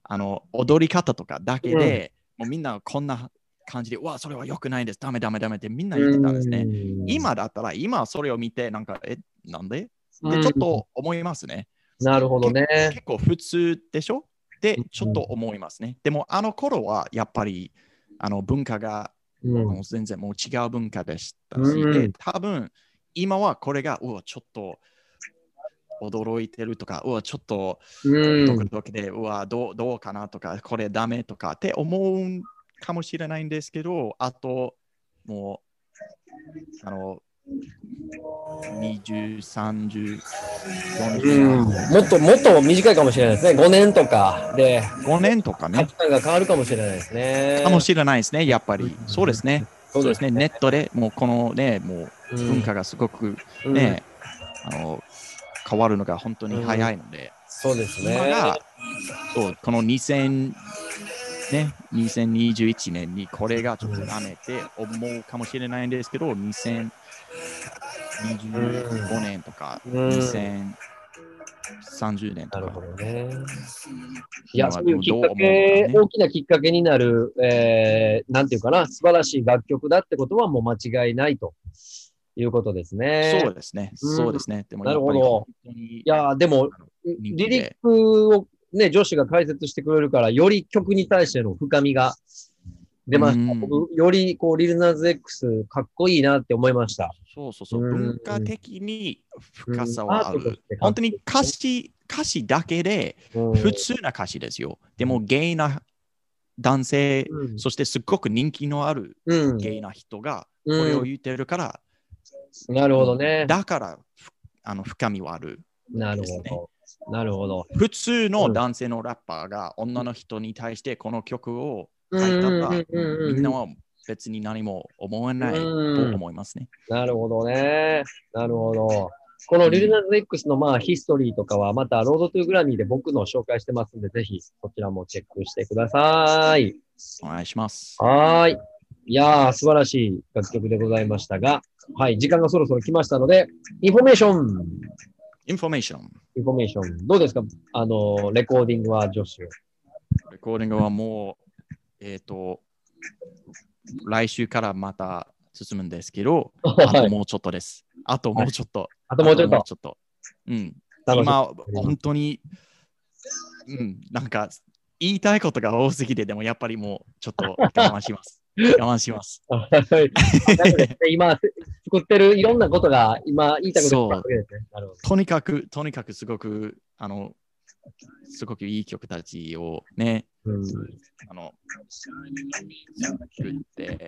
あの踊り方とかだけで、うん、もうみんなこんな感じで、うわ、それは良くないです、ダメダメダメってみんな言ってたんですね。今だったら、今それを見て、なんか、え、なんでで、ちょっと思いますね。 なるほどね。 結構普通でしょで、ちょっと思いますね。でも、あの頃はやっぱりあの文化が、うん、全然もう違う文化でしたし、うん、で、多分今はこれが、うわ、ちょっと驚いてるとか、うわ、ちょっとドキドキで、うん、うわ、どう、どうかなとか、これダメとかって思うかもしれないんですけど、あと、もう、あの、にじゅう、さんじゅう、よんじゅう、 うん、もっともっと短いかもしれないですね。ごねんとかで。 ごねんとかね。 価値観が変わるかもしれないですね。 かもしれないですね、やっぱり。そうですね。そうですね。ネットでもうこのね、もう文化がすごくね、うん、あの、変わるのが本当に早いので。うん、 そうですね。 今が、そう、このにせん、ね、にせんにじゅういちねんにこれがちょっとダメって思うかもしれないんですけど、にせんにじゅうごねんとか、うん、にせんさんじゅうねんとか。 なるほどね。いや、そういうきっかけ、ね、大きなきっかけになる、えー、なんていうかな、素晴らしい楽曲だってことはもう間違いないということですね。 そうですね。うん、そうですね。でもなるほど。いや、でも、リリックをね、女子が解説してくれるから、より曲に対しての深みが出ました。僕、よりこう、リルナーズ X かっこいいなって思いました。 そうそうそう。文化的に深さはある。本当に歌詞、歌詞だけで普通な歌詞ですよ。でも、ゲイな男性、うん、そしてすっごく人気のあるゲイな人がこれを言ってるから、 うん、なるほどね。 だから、あの深みはある、ね。 なるほど。なるほど。 普通の男性のラッパーが女の人に対してこの曲を書いたら、みんなは別に何も思わないと思いますね。 なるほどね。なるほど。このリルナーズ X のまあヒストリーとかはまたロードトゥーグラミーで僕の紹介してますんで、ぜひそちらもチェックしてください。 お願いします。 はい。いやー、素晴らしい楽曲でございましたが、はい、時間がそろそろ来ましたので、インフォメーション。 インフォメーション。 インフォメーション。どうですかあの、レコーディングは、ジョッシュ。 レコーディングはもう、えっと、来週からまた進むんですけど、あともうちょっとです。あともうちょっと。 あともうちょっと。 ちょっとうん。今、本当に、うん、なんか、言いたいことが多すぎて、でもやっぱりもうちょっと我慢します。我慢します。 今、作ってるいろんなことが今言いたくなるですね。なるほど。 とにかく、とにかくすごく、あの、すごくいい曲たちをね、うん、あの、作って。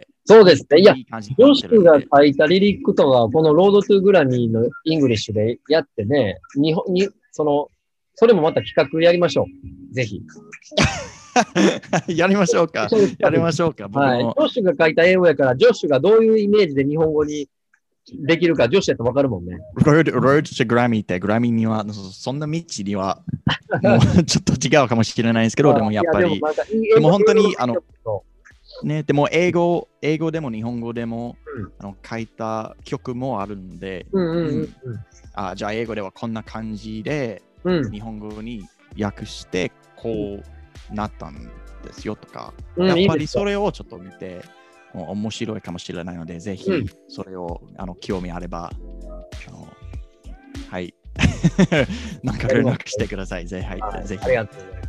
そうですね。いや、ジョシュが書いたリリックとか、このロードトゥーグラミーのイングリッシュでやってね、日本に、その、それもまた企画やりましょう。ぜひ。 やりましょうか。やりましょうか。 はい。ジョッシュが書いた英語やから、ジョッシュがどういうイメージで日本語にできるか、ジョッシュやってわかるもんね。 Road, Road to Grammy って、グラミーには、そんな道には、もうちょっと違うかもしれないですけど、でもやっぱり、でも本当に、あの、ね、でも英語、英語でも日本語でも、うん、あの書いた曲もあるので、あ、じゃあ英語ではこんな感じで、うん、日本語に訳して、こうなったんですよとか、うん、やっぱりそれをちょっと見て、もう面白いかもしれないので、ぜひそれを、うん、あの興味あれば、あのはい、なんか連絡してください。ぜひ、はい、ぜひ。 ありがとうございます。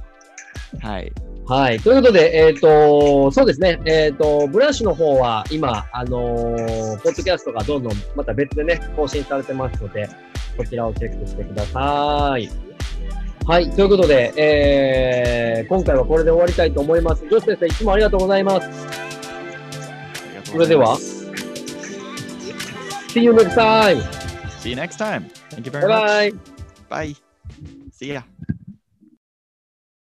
はい。 はい。ということで、えっ、ー、と、そうですね、えっ、ー、と、ブランシュの方は今、あのー、ポッドキャストがどんどんまた別でね、更新されてますので、こちらをチェックしてください。はい。ということで、えー、今回はこれで終わりたいと思います。ジョシュ先生、いつもありがとうございます。それでは、See you next time! See you next time! Thank you very much! Bye bye! Bye! See ya!